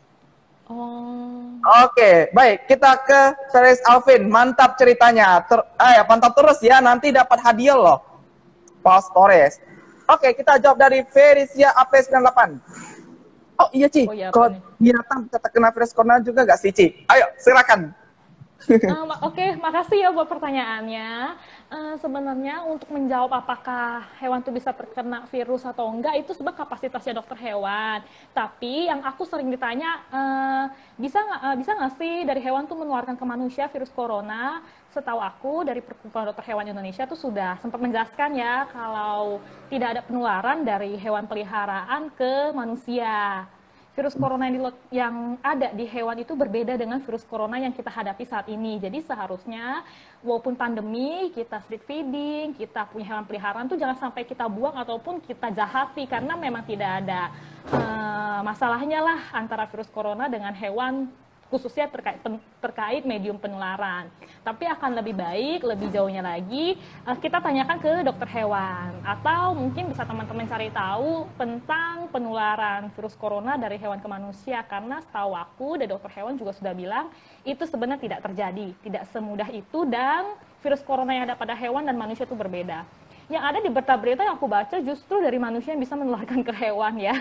Oke, baik. Kita ke Feris Alvin. Mantap ceritanya. Pantau terus ya. Nanti dapat hadiah loh. Paus Torres. Oke, kita jawab dari Ferisia AP98. Oh iya, Ci. Kalau binatang bisa terkena virus corona juga gak sih, Ci? Ayo, silakan. Oke, makasih ya buat pertanyaannya. Sebenarnya untuk menjawab apakah hewan itu bisa terkena virus atau enggak, itu sebenarnya kapasitasnya dokter hewan. Tapi yang aku sering ditanya, bisa nggak sih dari hewan tuh menularkan ke manusia virus corona? Setahu aku dari Perkumpulan Dokter Hewan Indonesia tuh sudah sempat menjelaskan ya kalau tidak ada penularan dari hewan peliharaan ke manusia. Virus corona yang ada di hewan itu berbeda dengan virus corona yang kita hadapi saat ini. Jadi seharusnya walaupun pandemi, kita street feeding, kita punya hewan peliharaan tuh jangan sampai kita buang ataupun kita jahati karena memang tidak ada masalahnya lah antara virus corona dengan hewan khususnya terkait medium penularan. Tapi akan lebih baik, lebih jauhnya lagi, kita tanyakan ke dokter hewan. Atau mungkin bisa teman-teman cari tahu tentang penularan virus corona dari hewan ke manusia. Karena setahu aku, dari dokter hewan juga sudah bilang, itu sebenarnya tidak terjadi. Tidak semudah itu dan virus corona yang ada pada hewan dan manusia itu berbeda. Yang ada di berita-berita yang aku baca justru dari manusia yang bisa menularkan ke hewan ya.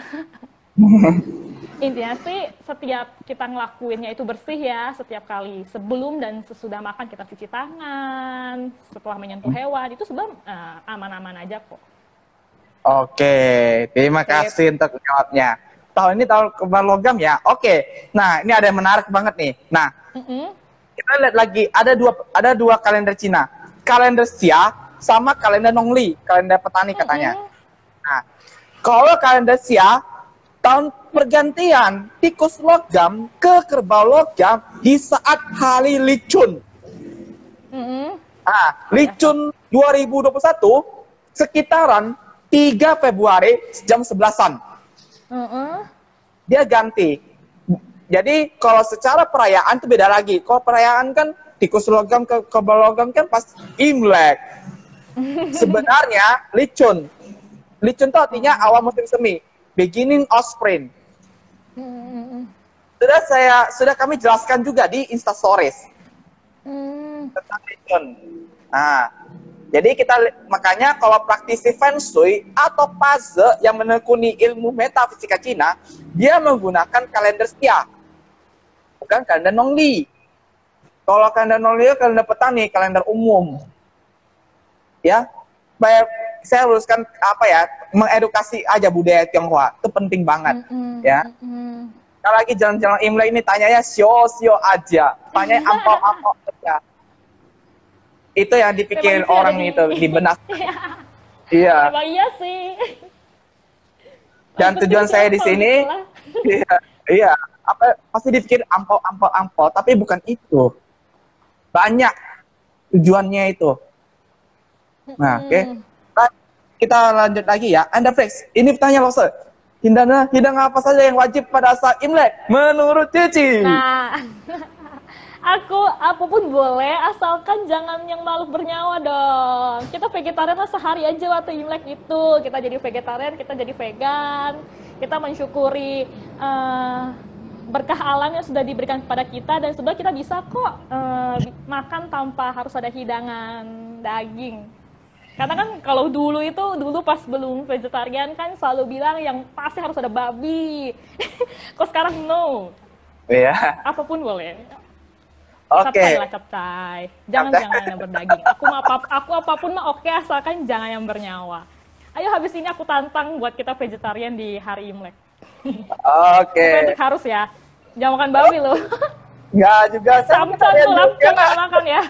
Intinya sih setiap kita ngelakuinnya itu bersih ya setiap kali. Sebelum dan sesudah makan kita cuci tangan, setelah menyentuh hewan itu sebenarnya aman-aman aja kok. Oke, terima kasih untuk jawabnya. Tahun ini tahun kebal logam ya. Oke, nah ini ada yang menarik banget nih. Nah, kita lihat lagi ada dua kalender Cina, kalender Xia sama kalender Nongli, kalender petani katanya. Nah, kalau kalender Xia tahun pergantian tikus logam ke kerbau logam di saat hari Licun. Licun 2021 sekitaran 3 Februari jam 11-an. Dia ganti. Jadi kalau secara perayaan itu beda lagi. Kalau perayaan kan tikus logam ke kerbau logam kan pas Imlek. Sebenarnya Licun. Licun itu artinya awal musim semi. Beginning of spring. Sudah kami jelaskan juga di Instastories tentang Licun. Nah, jadi makanya kalau praktisi Feng Shui atau puzzle yang menekuni ilmu metafisika Cina, dia menggunakan kalender Xia, bukan kalender Nongli. Kalau kalender Nongli itu kalender petani, kalender umum. Ya, saya luruskan mengedukasi aja budaya Tionghoa itu penting banget ya. Kalau lagi jalan-jalan Imlek ini tanyanya sio aja, tanya ampau aja. Itu yang dipikirin orang itu di benak. Iya. Iya sih. Dan tujuan saya di sini, iya, pasti dipikir ampau, tapi bukan itu. Banyak tujuannya itu. Nah, oke. Kita lanjut lagi ya. Anda Flex, ini pertanyaan lo, Sir. Hidangan apa saja yang wajib pada saat Imlek menurut Cici? Nah, aku apapun boleh asalkan jangan yang makhluk bernyawa dong. Kita vegetarian lah sehari aja waktu Imlek itu. Kita jadi vegetarian, kita jadi vegan. Kita mensyukuri berkah alam yang sudah diberikan kepada kita dan sebenarnya kita bisa kok makan tanpa harus ada hidangan daging. Karena kan kalau dulu pas belum vegetarian kan selalu bilang yang pasti harus ada babi. Kok sekarang no. Iya. Apapun boleh. Oke. Capcay lah capcay. Jangan yang berdaging. Aku apapun mah oke asalkan jangan yang bernyawa. Ayo habis ini aku tantang buat kita vegetarian di hari Imlek. Oke. Harus ya. Jangan makan babi loh. Nggak juga. Samcan tuh lampung makan ya.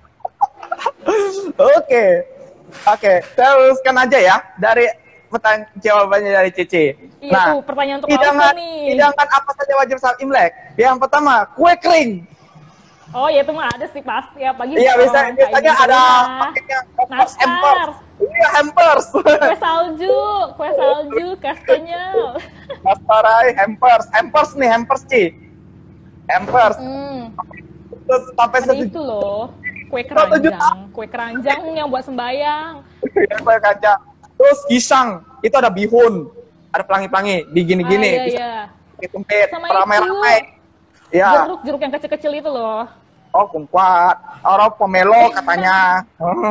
Oke, teruskan aja ya dari jawabannya dari Cici. Iya tuh pertanyaan untuk Alfa nih. Hidangan apa saja wajib saat Imlek? Yang pertama, kue kering. Oh ya itu mah ada sih pasti ya pagi. Iya biasanya ada paketnya hampers. Iya hampers. Kue salju, kastanya. Kastarai hampers nih hampers Ci. Hampers. Terus sampai itu loh. Kue keranjang yang buat sembayang. Kue keranjang. Terus pisang, itu ada bihun, ada pelangi-pelangi, digini-gini. Iya. Tumpit, sama ramai-ramai. Ya. Jeruk yang kecil-kecil itu loh. Oh, kumquat. Orang pomelo katanya.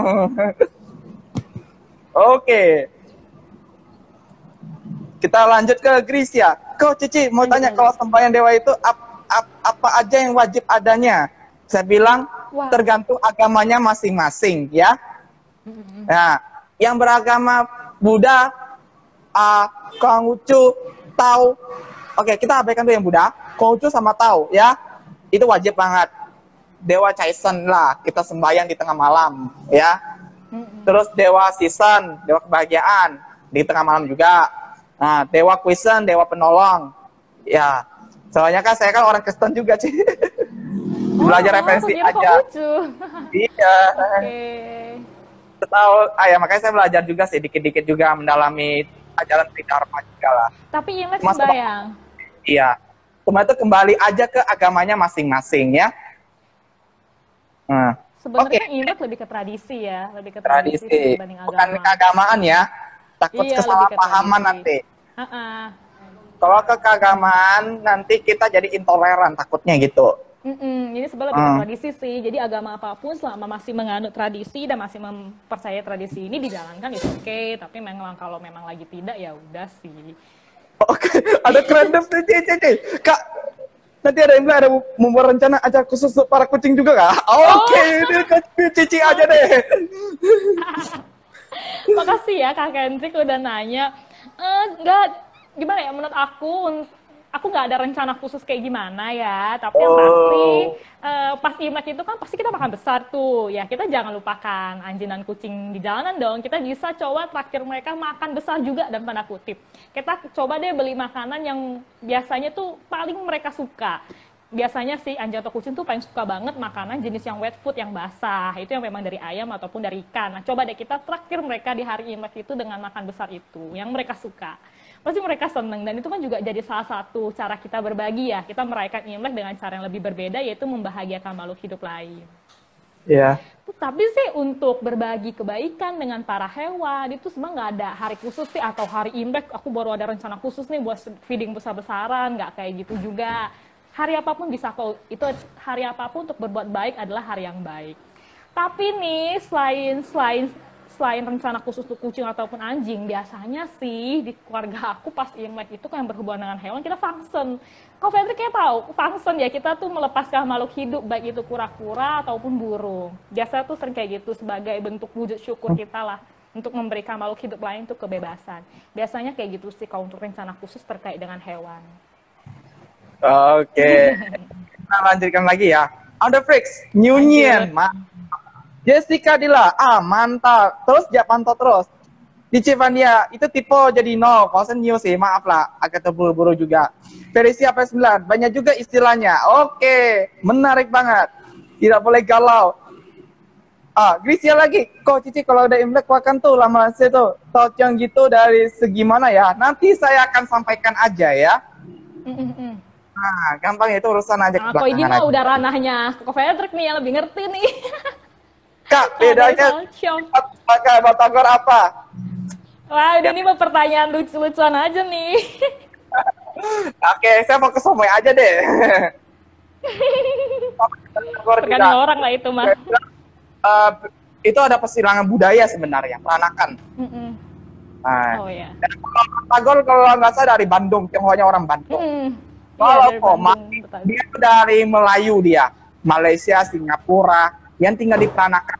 Oke. Kita lanjut ke Grisia. Kok Cici mau tanya kalau sembahyang dewa itu apa aja yang wajib adanya? Saya bilang tergantung agamanya masing-masing ya. Nah, yang beragama Buddha, Konghucu, Tao. Oke, kita abaikan tuh yang Buddha, Konghucu sama Tao ya. Itu wajib banget. Dewa Caisen lah, kita sembahyang di tengah malam ya. Terus Dewa Sisen, Dewa Kebahagiaan di tengah malam juga. Nah, Dewa Kuisen, Dewa Penolong. Ya, soalnya kan saya kan orang Kristen juga sih. Belajar referensi aja. Iya. Tahu, ya makanya saya belajar juga sih, dikit-dikit juga mendalami ajaran Tridharma juga lah. Tapi Imlek sembahyang. Iya. Cuma itu kembali aja ke agamanya masing-masing ya. Sebenarnya Imlek lebih ke tradisi ya, lebih ke tradisi dibanding agama. Bukan keagamaan ya. Takut kesalahpahaman nanti. Kalau ke keagamaan nanti kita jadi intoleran takutnya gitu. Ini sebenarnya lebih ke tradisi sih. Jadi agama apapun selama masih menganut tradisi dan masih mempercayai tradisi ini dijalankan itu oke. Tapi memang kalau memang lagi tidak ya udah sih. Oke, ada keren Cici. Kak, nanti ada yang ada membuat rencana acara khusus untuk para kucing juga kak? Oke, ini Cici aja deh. Makasih ya Kak Kendrick udah nanya. Enggak, gimana ya menurut aku nggak ada rencana khusus kayak gimana ya, tapi yang pasti pas Imlek itu kan pasti kita makan besar tuh, ya kita jangan lupakan anjing dan kucing di jalanan dong, kita bisa coba traktir mereka makan besar juga dan tanda kutip. Kita coba deh beli makanan yang biasanya tuh paling mereka suka. Biasanya sih anjing atau kucing tuh paling suka banget makanan jenis yang wet food yang basah, itu yang memang dari ayam ataupun dari ikan. Nah coba deh kita traktir mereka di hari Imlek itu dengan makan besar itu, yang mereka suka. Pasti mereka seneng, dan itu kan juga jadi salah satu cara kita berbagi ya, kita merayakan Imlek dengan cara yang lebih berbeda, yaitu membahagiakan makhluk hidup lain. Iya. Tapi sih untuk berbagi kebaikan dengan para hewan, itu sebenarnya nggak ada hari khusus sih, atau hari Imlek aku baru ada rencana khusus nih buat feeding besar-besaran, nggak kayak gitu juga. Hari apapun bisa kok, itu hari apapun untuk berbuat baik adalah hari yang baik. Tapi nih, selain rencana khusus untuk kucing ataupun anjing, biasanya sih di keluarga aku pas Imlek itu kan yang berhubungan dengan hewan, kita function. Kau Fedri kayak tahu, function ya, kita tuh melepaskan makhluk hidup, baik itu kura-kura ataupun burung. Biasanya tuh sering kayak gitu sebagai bentuk wujud syukur kita lah, untuk memberikan makhluk hidup lain tuh kebebasan. Biasanya kayak gitu sih kalau untuk rencana khusus terkait dengan hewan. Oke. Kita lanjutkan lagi ya. Ada Frix, Nyunyian, Jessica Dila, mantap. Terus dia pantau terus. Di Civania, itu tipe jadi no. Kalau saya new sih, maaf lah. Agak terburu-buru juga. Verisi AP9, banyak juga istilahnya. Oke, menarik banget. Tidak boleh galau. Grisia lagi. Kok Cici kalau udah Imlek makan tuh lama saya tuh. Thought yang gitu dari segi mana ya? Nanti saya akan sampaikan aja ya. Nah, gampang itu urusan aja ke Kok ini belakangan mah aja. udah ranahnya Koko Fredrik nih yang lebih ngerti nih. Kak, Kalau dari bedanya Salsyong. pakai batagor apa? Wah, udah ini mah pertanyaan lucu-lucuan aja nih. Oke, saya mau ke Somoy aja deh. Batagor tidak. Tergantung orang lah itu mah. Itu ada persilangan budaya sebenarnya, peranakan. Nah, Oh ya. dan kalau batagor kalau nggak salah dari Bandung, Tionghoanya orang Bandung. Kalau Iya, dari Komang, Bandung, betul. dia tuh dari Melayu dia. Malaysia, Singapura, yang tinggal di peranakan.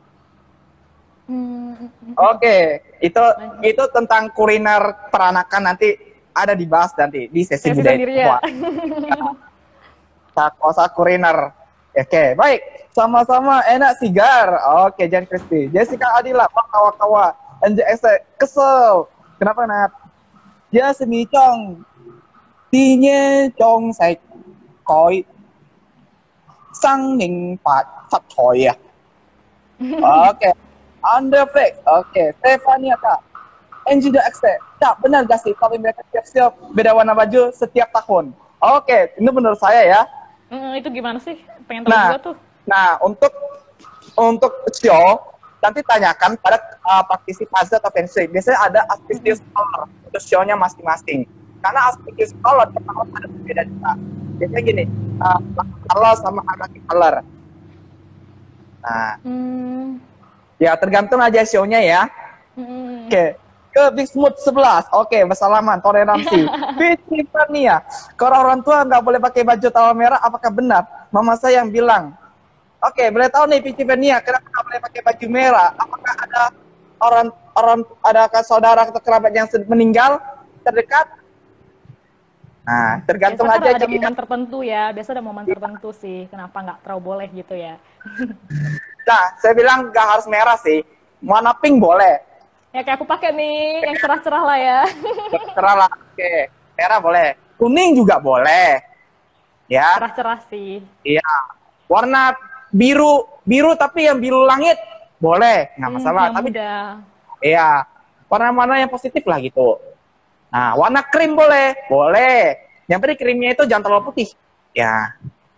Oke, itu tentang kuliner peranakan nanti ada dibahas nanti di sesi Sesi budaya sendiri Tionghoa. ya. Kosa kuliner. Oke, baik. Sama-sama enak sigar. Oke, Jan Kristi. Jessica Adila, kawa-kawa. NJS kesel. Kenapa, Nat? Dia semicong. Tinya chong sai koi. Sang ning fat choi ya. Oke. Underflex. Oke. Stefania Kak. Engineer X. Tak, benar gak sih kalau mereka siap-siap beda warna baju setiap tahun? Oke, ini menurut saya ya. Itu gimana sih? Pengen tahu juga tuh. Nah, untuk show nanti tanyakan pada praktisi puzzle atau fancy. Biasanya ada auspicious color untuk show-nya masing-masing. Karena auspicious color pertama ada berbeda juga. Biasanya gini, color sama anarchy color. Nah, ya tergantung aja show-nya ya. Oke. Ke Big Smooth 11. Oke, bersalaman, toleransi. Tiffany ya. Kalau orang tua nggak boleh pakai baju tawar merah, apakah benar? Mama saya yang bilang. Oke, boleh tahu nih Tiffany ya, kenapa nggak boleh pakai baju merah? Apakah ada adakah saudara atau kerabat yang meninggal terdekat? Nah, tergantung Biasa aja. kan ada momen tertentu ya. Biasa ada momen tertentu sih. Kenapa nggak terlalu boleh gitu ya? Nah, saya bilang nggak harus merah sih. Warna pink boleh. Ya kayak aku pakai nih, yang cerah-cerah lah ya. Cerah lah. Oke, merah boleh. Kuning juga boleh. Ya. Cerah-cerah sih. Iya. Warna biru tapi yang biru langit boleh, nggak masalah. Yang Tapi muda. iya, warna-warna yang positif lah gitu. Nah, warna krim boleh, boleh. Yang penting krimnya itu jangan terlalu putih. Ya.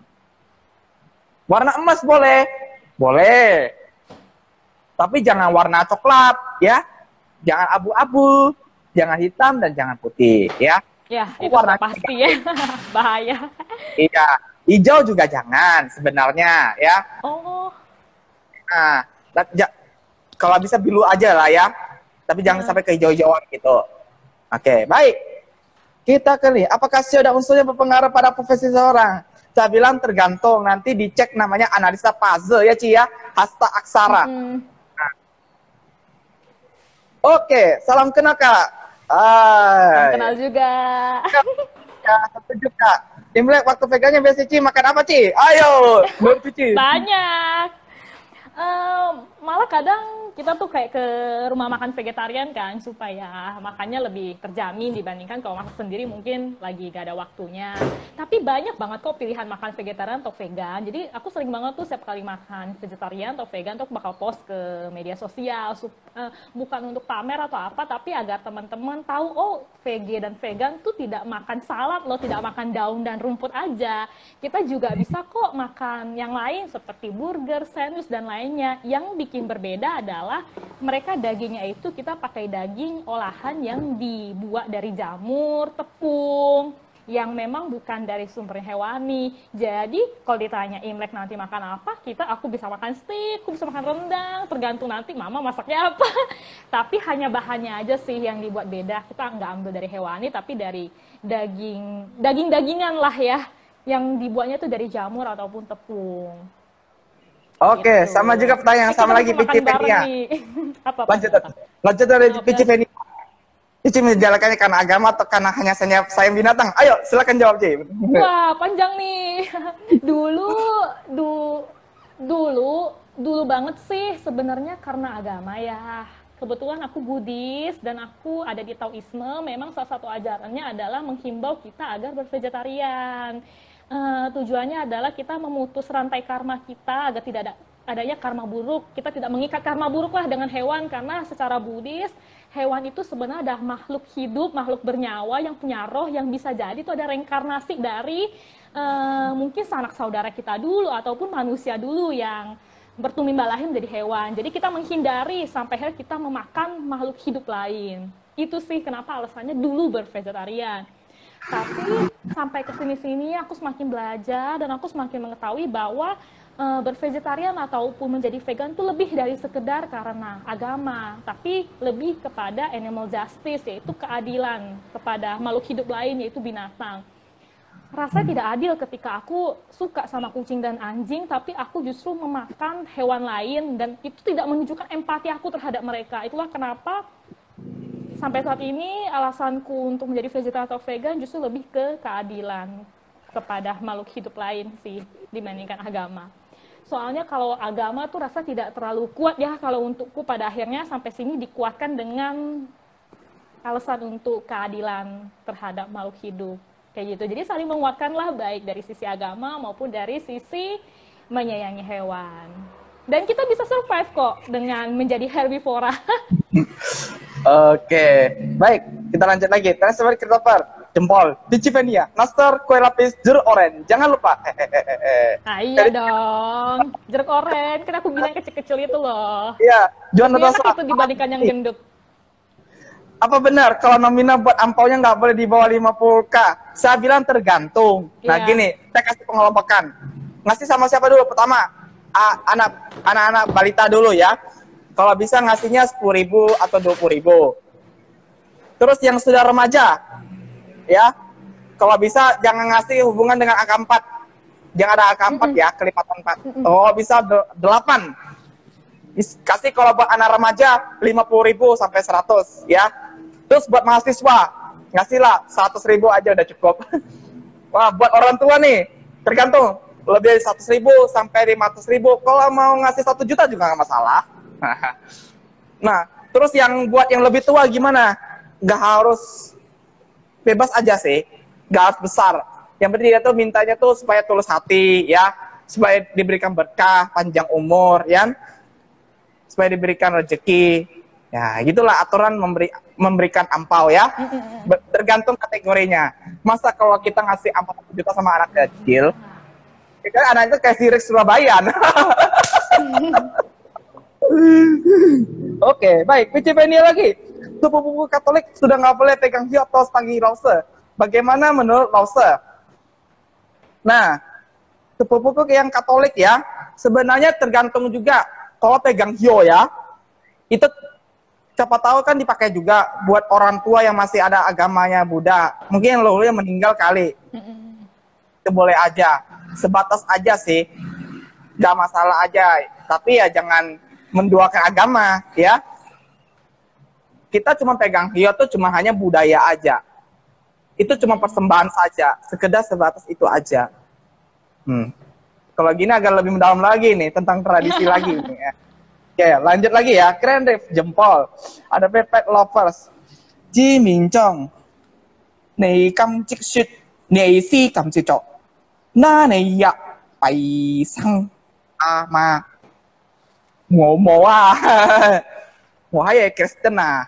Warna emas boleh, boleh. Tapi jangan warna coklat, ya. Jangan abu-abu, jangan hitam dan jangan putih, ya. Ya, itu Warna sudah pasti ya. Bahaya. Iya, hijau juga jangan sebenarnya, ya. Oh. Nah, kalau bisa biru aja lah ya. Tapi jangan sampai ke hijau-hijauan gitu. Oke, baik. Kita kali, apakah sio ada unsurnya berpengaruh pada profesi seseorang? Saya bilang tergantung, nanti dicek namanya analisa puzzle ya Ci ya, hasta aksara. Oke, salam kenal Kak. Salam kenal juga. Ya, setuju Kak. Imlek waktu pegangnya biasa Ci makan apa Ci? Ayo, bantu Ci. Banyak. Malah kadang kita tuh kayak ke rumah makan vegetarian kan supaya makannya lebih terjamin dibandingkan kalau masak sendiri mungkin lagi gak ada waktunya. Tapi banyak banget kok pilihan makan vegetarian atau vegan. Jadi aku sering banget tuh setiap kali makan vegetarian atau vegan tuh aku bakal post ke media sosial. Bukan untuk pamer atau apa, tapi agar teman-teman tahu oh VG dan vegan tuh tidak makan salad loh, tidak makan daun dan rumput aja. Kita juga bisa kok makan yang lain seperti burger, sandwich dan lainnya. Yang bikin berbeda adalah mereka dagingnya itu kita pakai daging olahan yang dibuat dari jamur, tepung, yang memang bukan dari sumber hewani. Jadi kalau ditanya Imlek nanti makan apa, aku bisa makan steak, aku bisa makan rendang, tergantung nanti mama masaknya apa. Tapi hanya bahannya aja sih yang dibuat beda. Kita nggak ambil dari hewani, tapi dari daging-dagingan lah ya, yang dibuatnya tuh dari jamur ataupun tepung. Oke, Gitu. sama juga pertanyaan sama lagi Makan Pici bareng Venia. nih. Apa? Lanjut dari Pici Venia. Cici menjalankannya karena agama atau karena hanya sayang binatang? Ayo, silakan jawab, Ci. Wah, panjang nih. Dulu banget sih sebenarnya karena agama ya. Kebetulan aku Buddhis dan aku ada di Taoisme. Memang salah satu ajarannya adalah menghimbau kita agar bervegetarian. tujuannya adalah kita memutus rantai karma kita agar tidak adanya karma buruk. Kita tidak mengikat karma buruk lah dengan hewan, karena secara Buddhis hewan itu sebenarnya adalah makhluk hidup, makhluk bernyawa yang punya roh, yang bisa jadi itu ada reinkarnasi dari mungkin sanak saudara kita dulu ataupun manusia dulu yang bertumbuh lahir menjadi hewan. Jadi kita menghindari sampai akhirnya kita memakan makhluk hidup lain. Itu sih kenapa alasannya dulu bervegetarian. Tapi sampai ke sini-sini aku semakin belajar dan aku semakin mengetahui bahwa bervegetarian ataupun menjadi vegan itu lebih dari sekedar karena agama, tapi lebih kepada animal justice, yaitu keadilan kepada makhluk hidup lain, yaitu binatang. Rasanya tidak adil ketika aku suka sama kucing dan anjing, tapi aku justru memakan hewan lain dan itu tidak menunjukkan empati aku terhadap mereka. Itulah kenapa sampai saat ini alasanku untuk menjadi vegetarian atau vegan justru lebih ke keadilan kepada makhluk hidup lain sih dibandingkan agama. Soalnya kalau agama tuh rasa tidak terlalu kuat ya kalau untukku, pada akhirnya sampai sini dikuatkan dengan alasan untuk keadilan terhadap makhluk hidup. Kayak gitu. Jadi saling menguatkanlah baik dari sisi agama maupun dari sisi menyayangi hewan. Dan kita bisa survive kok dengan menjadi herbivora. Oke, baik, kita lanjut lagi. Transfer Christopher, jempol, Digivenia, Master, kue lapis, jeruk oren. Jangan lupa. Iya dong, jeruk oren. Kan aku bilang kecil-kecil itu loh. Iya, Juan Enak Natasha. itu dibandingkan yang gendut. Apa benar kalau nominal buat ampaunya nggak boleh di bawah 50K? Saya bilang tergantung. Nah Iya. gini, saya kasih pengelompokan. Ngasih sama siapa dulu? Pertama, anak-anak balita dulu ya. Kalau bisa ngasihnya 10.000 atau 20.000. Terus yang sudah remaja, ya. Kalau bisa jangan ngasih hubungan dengan angka 4. Jangan ada angka 4 ya, kelipatan 4. Oh, bisa 8. Kasih kalau buat anak remaja 50.000 sampai 100 ya. Terus buat mahasiswa ngasihlah 100.000 aja udah cukup. Wah, buat orang tua nih tergantung, lebih dari 100.000 sampai 500.000. Kalau mau ngasih 1 juta juga nggak masalah. Nah, terus yang buat yang lebih tua gimana? Nggak harus, bebas aja sih, nggak harus besar. Yang penting dia tuh mintanya tuh supaya tulus hati ya, supaya diberikan berkah, panjang umur ya, supaya diberikan rezeki. Ya, gitulah aturan memberikan ampau ya. Tergantung kategorinya. Masa kalau kita ngasih ampau 1 juta sama anak kecil, kan anak itu kayak Sirik Surabaya. Oke, baik. Wikipedia lagi. Sepupu Katolik sudah nggak boleh pegang hiu atau stangi lause. Bagaimana menurut lause? Nah, sepupuku yang Katolik ya, sebenarnya tergantung juga. Kalau pegang hiu ya, itu siapa tahu kan dipakai juga buat orang tua yang masih ada agamanya Buddha. Mungkin lo yang meninggal kali. Itu boleh aja. Sebatas aja sih. Gak masalah aja. Tapi ya jangan menduakan agama ya. Kita cuma pegang hiu tuh cuma hanya budaya aja. Itu cuma persembahan saja. Sekedar sebatas itu aja. Kalau gini agak lebih mendalam lagi nih tentang tradisi lagi nih ya. Oke, lanjut lagi ya. Keren deh, jempol. Ada pet lovers. Ji Mingjong. Nei kam cik shit. Nei si kam cik cok. Na nei ya. Pai sang. Ama. Ngomo ah. Wahai Kristen ah.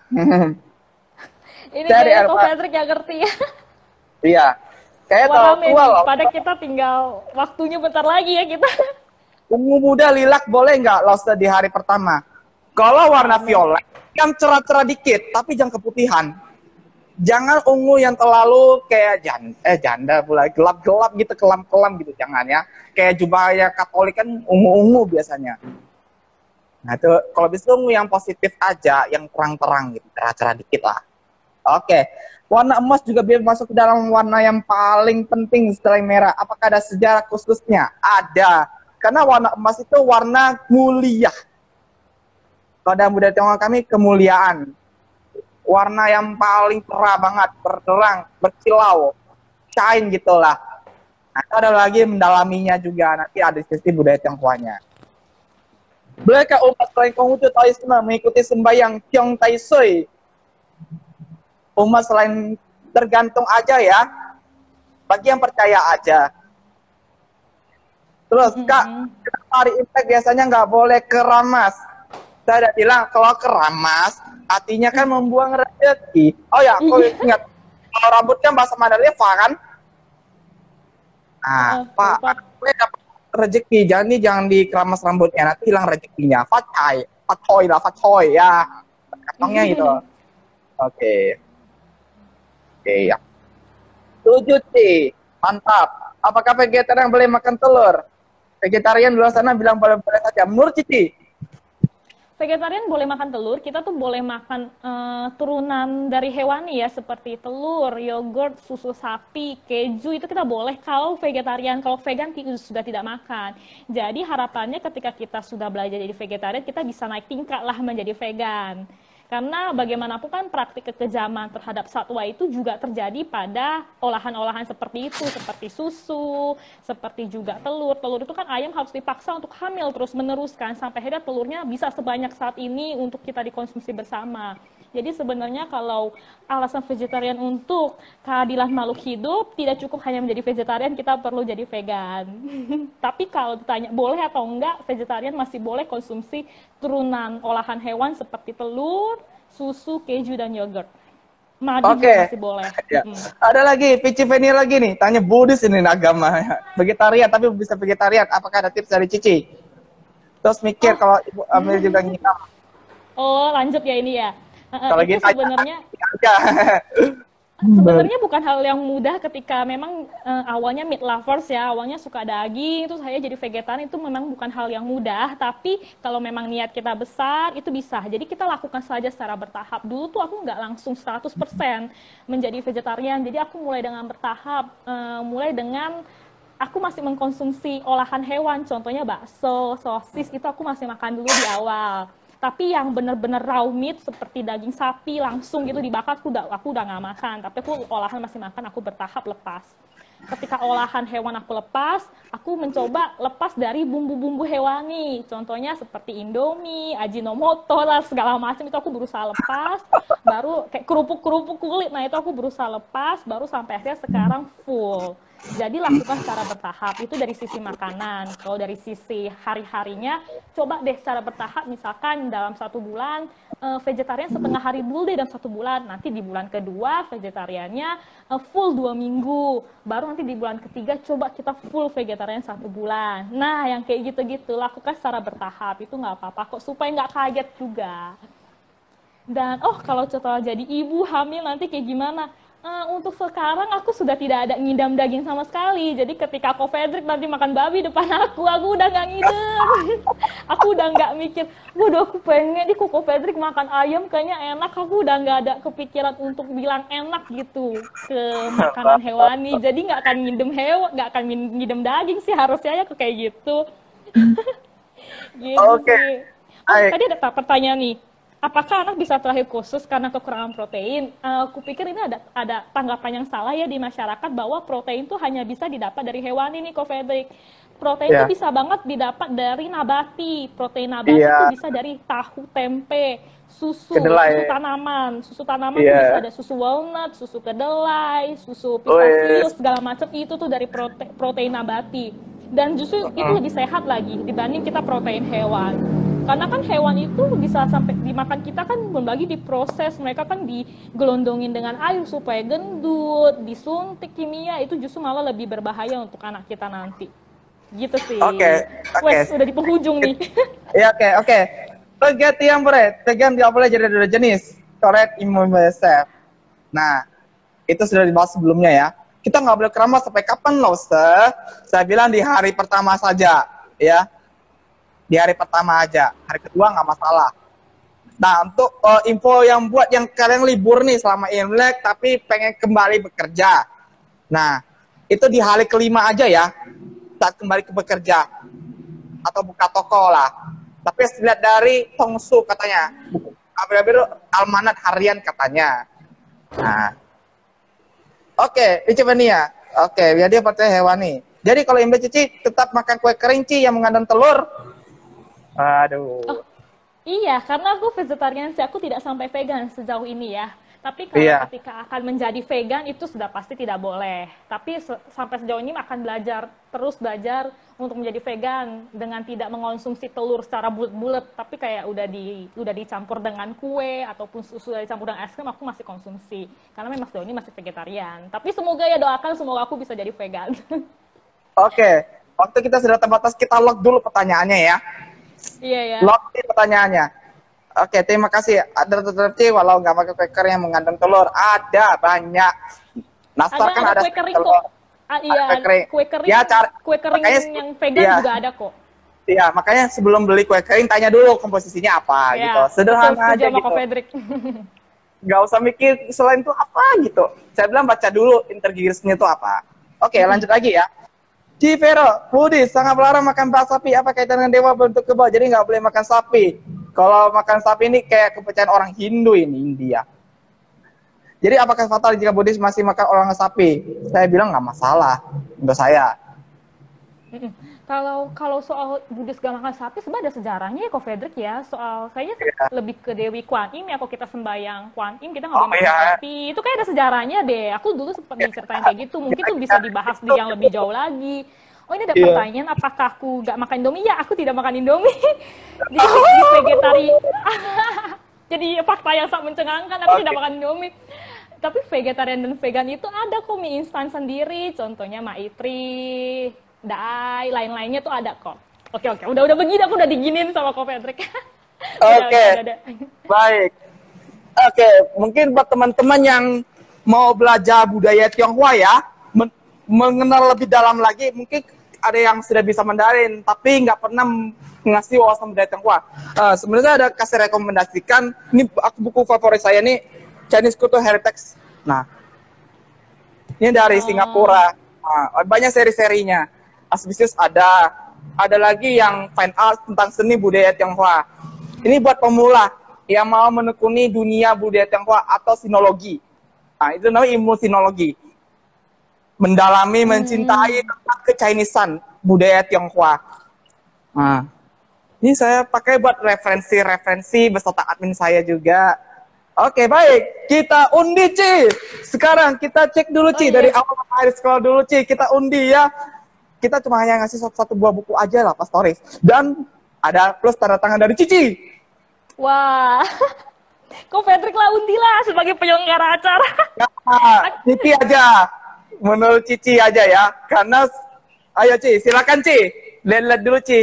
Ini Dari kayaknya Ko Arfa. Fredrik yang ngerti ya. Iya. Kayak Wah, tahu rame tua nih. loh. Pada kita tinggal waktunya bentar lagi ya kita. Ungu muda lilac boleh nggak lobster di hari pertama? Kalau warna violet, yang cerah-cerah dikit, tapi jangan keputihan. Jangan ungu yang terlalu kayak janda pula, gelap-gelap gitu, kelam-kelam gitu, jangan ya. Kayak jubahnya Katolik kan ungu-ungu biasanya. Nah itu kalau bisa ungu yang positif aja, yang terang-terang gitu, cerah-cerah dikit lah. Oke, warna emas juga biar masuk ke dalam warna yang paling penting setelah yang merah. Apakah ada sejarah khususnya? Ada. Karena warna emas itu warna mulia. Kalau dalam budaya Tionghoa kami, kemuliaan. Warna yang paling cerah banget, berterang, berkilau, shine gitulah. Nah, ada lagi mendalaminya juga, nanti ada sisi budaya Tionghoanya. Bolehkah umat selain Konghucu Taoisme mengikuti sembahyang Tiong Tai Sui? Umat selain tergantung aja ya, bagi yang percaya aja. Terus Kak, kenapa hari Imlek biasanya nggak boleh keramas? Saya udah bilang kalau keramas artinya kan membuang rezeki. Oh ya, aku Iya. ingat kalau rambut kan bahasa Mandalika kan? Nah, Pak, Lupa. gue dapat rezeki, jangan dikeramas rambutnya, nanti hilang rezekinya. Fatcoy lah, fatcoy ya. Kantongnya gitu. Oke, oke ya. Tujuh sih, mantap. Apakah vegetarian boleh makan telur? Vegetarian di luar sana bilang boleh-boleh saja. Menurut Cici, Vegetarian boleh makan telur, kita tuh boleh makan turunan dari hewani ya, seperti telur, yogurt, susu sapi, keju, itu kita boleh kalau vegetarian. Kalau vegan sudah tidak makan. Jadi harapannya ketika kita sudah belajar jadi vegetarian, kita bisa naik tingkat lah menjadi vegan. Karena bagaimanapun kan praktik kekejaman terhadap satwa itu juga terjadi pada olahan-olahan seperti itu, seperti susu, seperti juga telur. Telur itu kan ayam harus dipaksa untuk hamil terus meneruskan sampai akhirnya telurnya bisa sebanyak saat ini untuk kita dikonsumsi bersama. Jadi sebenarnya kalau alasan vegetarian untuk keadilan makhluk hidup tidak cukup hanya menjadi vegetarian, kita perlu jadi vegan. Tapi kalau ditanya boleh atau enggak, vegetarian masih boleh konsumsi turunan olahan hewan seperti telur, susu, keju, dan yogurt. Madu oke. juga masih boleh. Ya. Ada lagi, Cici Veni lagi nih, tanya Buddhis ini agama. Vegetarian tapi bisa vegetarian. Apakah ada tips dari Cici? Terus mikir kalau Ibu Amir juga nginam. Oh, lanjut ya ini ya. Kalau Itu gitu sebenarnya aja. sebenarnya bukan hal yang mudah ketika memang awalnya meat lovers ya, awalnya suka daging, terus saya jadi vegetarian itu memang bukan hal yang mudah, tapi kalau memang niat kita besar itu bisa. Jadi kita lakukan saja secara bertahap. Dulu tuh aku nggak langsung 100% menjadi vegetarian, jadi aku mulai dengan bertahap, mulai dengan aku masih mengkonsumsi olahan hewan, contohnya bakso, sosis, itu aku masih makan dulu di awal. Tapi yang benar-benar raw meat seperti daging sapi langsung gitu dibakar aku udah nggak makan. Tapi aku olahan masih makan, aku bertahap lepas. Ketika olahan hewan aku lepas, aku mencoba lepas dari bumbu-bumbu hewani. Contohnya seperti Indomie, Ajinomoto, lah segala macam itu aku berusaha lepas. Baru kayak kerupuk-kerupuk kulit, nah itu aku berusaha lepas. Baru sampai akhirnya sekarang full. Jadi lakukan secara bertahap, itu dari sisi makanan. Kalau dari sisi hari-harinya, coba deh secara bertahap, misalkan dalam 1 bulan, vegetarian setengah hari dulu deh dalam 1 bulan. Nanti di bulan kedua, vegetariannya full 2 minggu. Baru nanti di bulan ketiga, coba kita full vegetarian 1 bulan. Nah, yang kayak gitu-gitu, lakukan secara bertahap, itu nggak apa-apa kok, supaya nggak kaget juga. Dan, kalau setelah jadi ibu, hamil, nanti kayak gimana? Untuk sekarang aku sudah tidak ada ngidam daging sama sekali. Jadi ketika Ko Fedrik nanti makan babi depan aku udah nggak ngidam. Aku udah nggak mikir, waduh aku pengen nih Ko Fedrik makan ayam kayaknya enak. Aku udah nggak ada kepikiran untuk bilang enak gitu ke makanan hewani. Jadi nggak akan ngidam hewan, nggak akan ngidam daging sih harusnya ya kayak gitu. Gitu Oke. sih. Baik. Tadi ada pertanyaan nih. Apakah anak bisa terakhir khusus karena kekurangan protein? Aku pikir ini ada tanggapan yang salah ya di masyarakat bahwa protein itu hanya bisa didapat dari hewani nih, Ko Fedrik. Protein itu bisa banget didapat dari nabati. Protein nabati itu bisa dari tahu, tempe, susu, Kedelai. susu tanaman. Susu tanaman itu bisa ada susu walnut, susu kedelai, susu pistasius, segala macam itu tuh dari protein nabati. Dan justru itu lebih sehat lagi dibanding kita protein hewan. Karena kan hewan itu bisa sampai dimakan kita kan belum lagi diproses, mereka kan digelondongin dengan air supaya gendut, disuntik kimia, itu justru malah lebih berbahaya untuk anak kita nanti. Gitu sih. Oke. Wes, udah di penghujung nih. Ya, oke. Vegetarian boleh jadi dua jenis. Correct, immunosef. Nah, itu sudah dibahas sebelumnya ya. Kita nggak boleh keramas sampai kapan loh, Saya bilang di hari pertama saja, ya. Di hari pertama aja, hari kedua nggak masalah. Nah, untuk info yang buat yang kalian libur nih selama Imlek tapi pengen kembali bekerja. Nah, itu di hari kelima aja ya, saat kembali ke bekerja. Atau buka toko lah. Tapi lihat dari Tongsu katanya, almanat harian katanya. Nah, oke, Icevania. Oke, biar dia percaya hewani. Jadi kalau Imlek Cici tetap makan kue kerinci yang mengandung telur. Aduh. Iya, karena aku vegetarian sih, aku tidak sampai vegan sejauh ini ya. Tapi kalau Iya. ketika akan menjadi vegan itu sudah pasti tidak boleh. Tapi sampai sejauh ini akan terus belajar untuk menjadi vegan dengan tidak mengonsumsi telur secara bulat-bulat, tapi kayak udah dicampur dengan kue ataupun sudah dicampur dengan es krim, aku masih konsumsi. Karena memang sejauh ini masih vegetarian. Tapi semoga ya, doakan semoga aku bisa jadi vegan. Oke, waktu kita sudah terbatas, kita lock dulu pertanyaannya ya. Iya ya. Lock di pertanyaannya. Oke, terima kasih. Ada tetap walau nggak pakai cracker yang mengandung telur. Ada banyak. Nastar kan ada kue kering telur. kok. Iya, Ada kue kering. Ya, kue kering makanya, yang vegan iya. juga ada kok. Iya, makanya sebelum beli kue kering tanya dulu komposisinya apa Iya, gitu. Sederhana aja sama gitu. Ko Fedrik. Nggak usah mikir selain itu apa gitu. Saya bilang baca dulu intergirisnya itu apa. Oke, lanjut lagi ya. Civero, Buddhis, sangat melarang makan sapi. Apa kaitan dengan dewa bentuk kebal? Jadi nggak boleh makan sapi. Kalau makan sapi ini kayak kepercayaan orang Hindu ini, India. Jadi apakah fatal jika Buddhis masih makan orang sapi? Saya bilang nggak masalah untuk saya. Kalau soal Buddhis gak makan sapi, sebenarnya ada sejarahnya ya, Ko Fedrik ya. Soal kayaknya lebih ke Dewi Kuan Im ya, kalau kita sembahyang Kuan Im, kita nggak boleh makan sapi. Itu kayak ada sejarahnya deh. Aku dulu sempat diceritain kayak gitu. Mungkin itu bisa dibahas di yang lebih jauh lagi. Oh, ini ada pertanyaan, apakah aku gak makan Indomie? Ya, aku tidak makan Indomie. Di vegetari. Jadi fakta yang sangat mencengangkan, aku tidak makan Indomie. Tapi vegetarian dan vegan itu ada kok mie instan sendiri. Contohnya Maitri, Dai, lain-lainnya tuh ada kok. Oke. Udah begini, aku udah diginin sama Ko Fedrik. Oke. Baik. Oke, mungkin buat teman-teman yang mau belajar budaya Tionghoa ya, mengenal lebih dalam lagi, mungkin ada yang sudah bisa Mandarin, tapi nggak pernah ngasih wawasan budaya Tionghoa. Sebenarnya ada kasih rekomendasikan, ini buku favorit saya nih, Chinese Cultural Heritage. Nah, ini dari Singapura. Nah, banyak seri-serinya. Auspicious ada lagi yang fine art tentang seni budaya Tionghoa. Ini buat pemula yang mau menekuni dunia budaya Tionghoa atau sinologi. Nah, itu namanya ilmu sinologi. Mendalami, mencintai tentang ke-Chinesean budaya Tionghoa. Nah, ini saya pakai buat referensi beserta admin saya juga. Oke, baik. Kita undi, Ci. Sekarang kita cek dulu, Ci. Dari awal sampai scroll dulu, Ci. Kita undi ya. Kita cuma hanya ngasih satu buah buku aja lah, Pastoris. Dan ada plus tanda tangan dari Cici. Wah. Ko Fedrik lah, undi lah sebagai penyelenggara acara. Ya, Cici aja. Menurut Cici aja ya. Karena, ayo Ci, silakan Ci. Lihat dulu, Ci.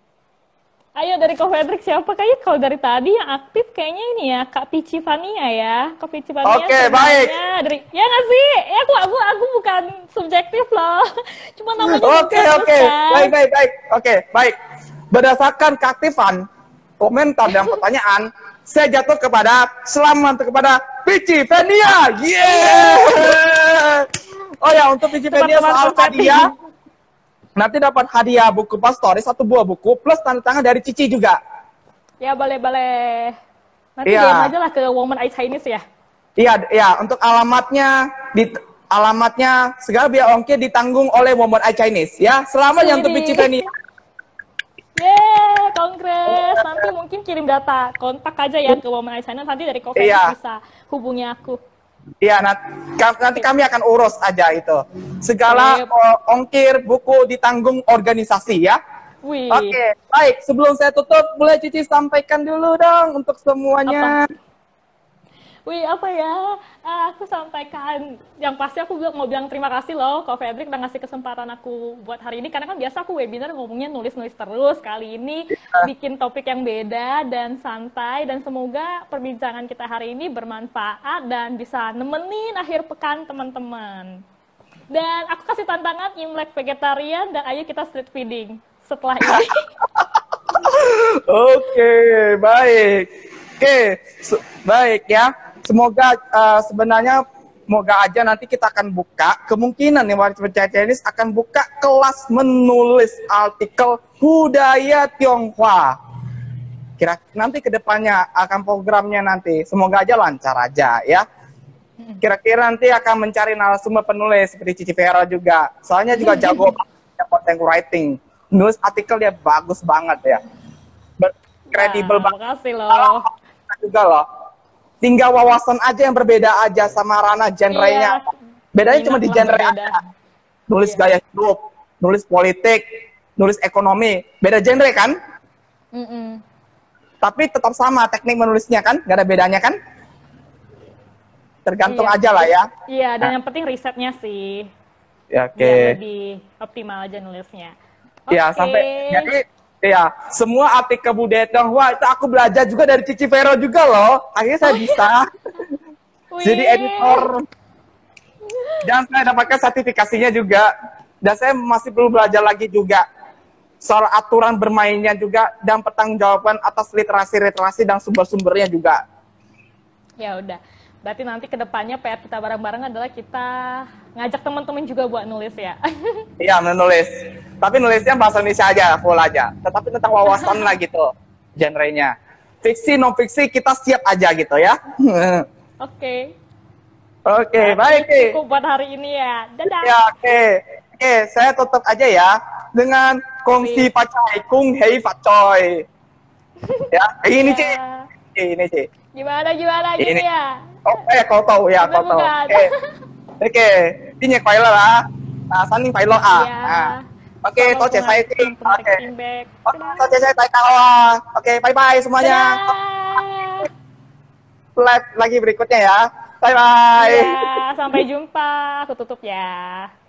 Ayo dari Ko Fedrik siapa? Kayaknya kalau dari tadi yang aktif kayaknya ini ya, Kak Pici Fania ya. Kak Pici Fania. Oke, baik. Ya nggak sih? Ya aku bukan subjektif loh. Cuma namanya Oke. Baik. Oke, baik. Berdasarkan keaktifan, komentar dan pertanyaan, saya jatuh kepada selamat kepada Pici Fania. Yeah! Oh ya, untuk Pici Fania soal hadiah, nanti dapat hadiah buku Pastoris, 1 buah buku, plus tanda tangan dari Cici juga. Ya, boleh. Nanti DM aja lah ke Woman Eye Chinese ya. Iya, untuk alamatnya, segala biaya ongkir ditanggung oleh Woman Eye Chinese. Ya, selamat yang untuk Pici Fania. Yeay, kongres. Nanti mungkin kirim data kontak aja ya ke Woman Eye Chinese. Nanti dari Ko Fedrik bisa hubungi aku. Iya, nanti kami akan urus aja itu. Segala ongkir buku ditanggung organisasi ya. Wih. Oke, baik. Sebelum saya tutup, boleh Cici sampaikan dulu dong untuk semuanya. Wih, apa ya? Aku sampaikan, yang pasti aku mau bilang terima kasih loh Ko Fedrik udah ngasih kesempatan aku buat hari ini. Karena kan biasa aku webinar ngomongnya nulis-nulis terus. Kali ini bikin topik yang beda dan santai. Dan semoga perbincangan kita hari ini bermanfaat dan bisa nemenin akhir pekan teman-teman. Dan aku kasih tantangan Imlek vegetarian dan ayo kita street feeding setelah ini. Oke, baik. Baik ya. Semoga semoga aja nanti kita akan buka, kemungkinan nih Waris Percaya Chinese akan buka kelas menulis artikel budaya Tionghoa. Nanti kedepannya akan programnya nanti, semoga aja lancar aja ya. Kira-kira nanti akan mencari narasumber penulis seperti Cici Vera juga, soalnya juga jago content writing, nulis artikel dia bagus banget ya, kredibel banget. Makasih loh. Juga loh. Tinggal wawasan aja yang berbeda aja sama Rana, genrenya. Iya, Bedanya cuma di minat lah genre berbeda. aja. Nulis Iya. gaya hidup, nulis politik, nulis ekonomi. Beda genre kan? Mm-mm. Tapi tetap sama teknik menulisnya kan? Gak ada bedanya kan? Tergantung Iya. aja lah ya. Iya, dan yang penting risetnya sih. Ya, oke. Biar lebih optimal aja nulisnya. Ya, Oke. sampai jadi ya, semua artikel budaya Tionghoa itu aku belajar juga dari Cici Vero juga loh. Akhirnya saya bisa jadi Wih. editor. Dan saya dapatkan sertifikasinya juga. Dan saya masih perlu belajar lagi juga soal aturan bermainnya juga dan pertanggungjawaban atas literasi dan sumber-sumbernya juga. Ya udah. Berarti nanti kedepannya PR kita bareng-bareng adalah kita ngajak teman-teman juga buat nulis ya. Iya, menulis. Tapi nulisnya bahasa Indonesia aja, full aja. Tetapi tentang wawasan lah gitu, genrenya. Fiksi, non-fiksi, kita siap aja gitu ya. Oke. Oke, Berarti baik. cukup buat hari ini ya. Dadah. Ya, oke. Oke, saya tutup aja ya dengan kongsi pacai, kung hei pacoy. Ya, ini Ya. Ci. Ini Ci. Gimana gitu Ini. ya? Oh, kau tahu ya, Bener kau tahu. bukan? Oke. Ini快乐啦。三年快樂啊。 Iya. Oke, Selamat 多謝晒先。 menarik Oke. feedback. Toh saya tak tahu ah. Oke, bye-bye semuanya. Dadah. Live lagi berikutnya ya. Bye-bye. Ya, sampai jumpa. Aku tutup ya.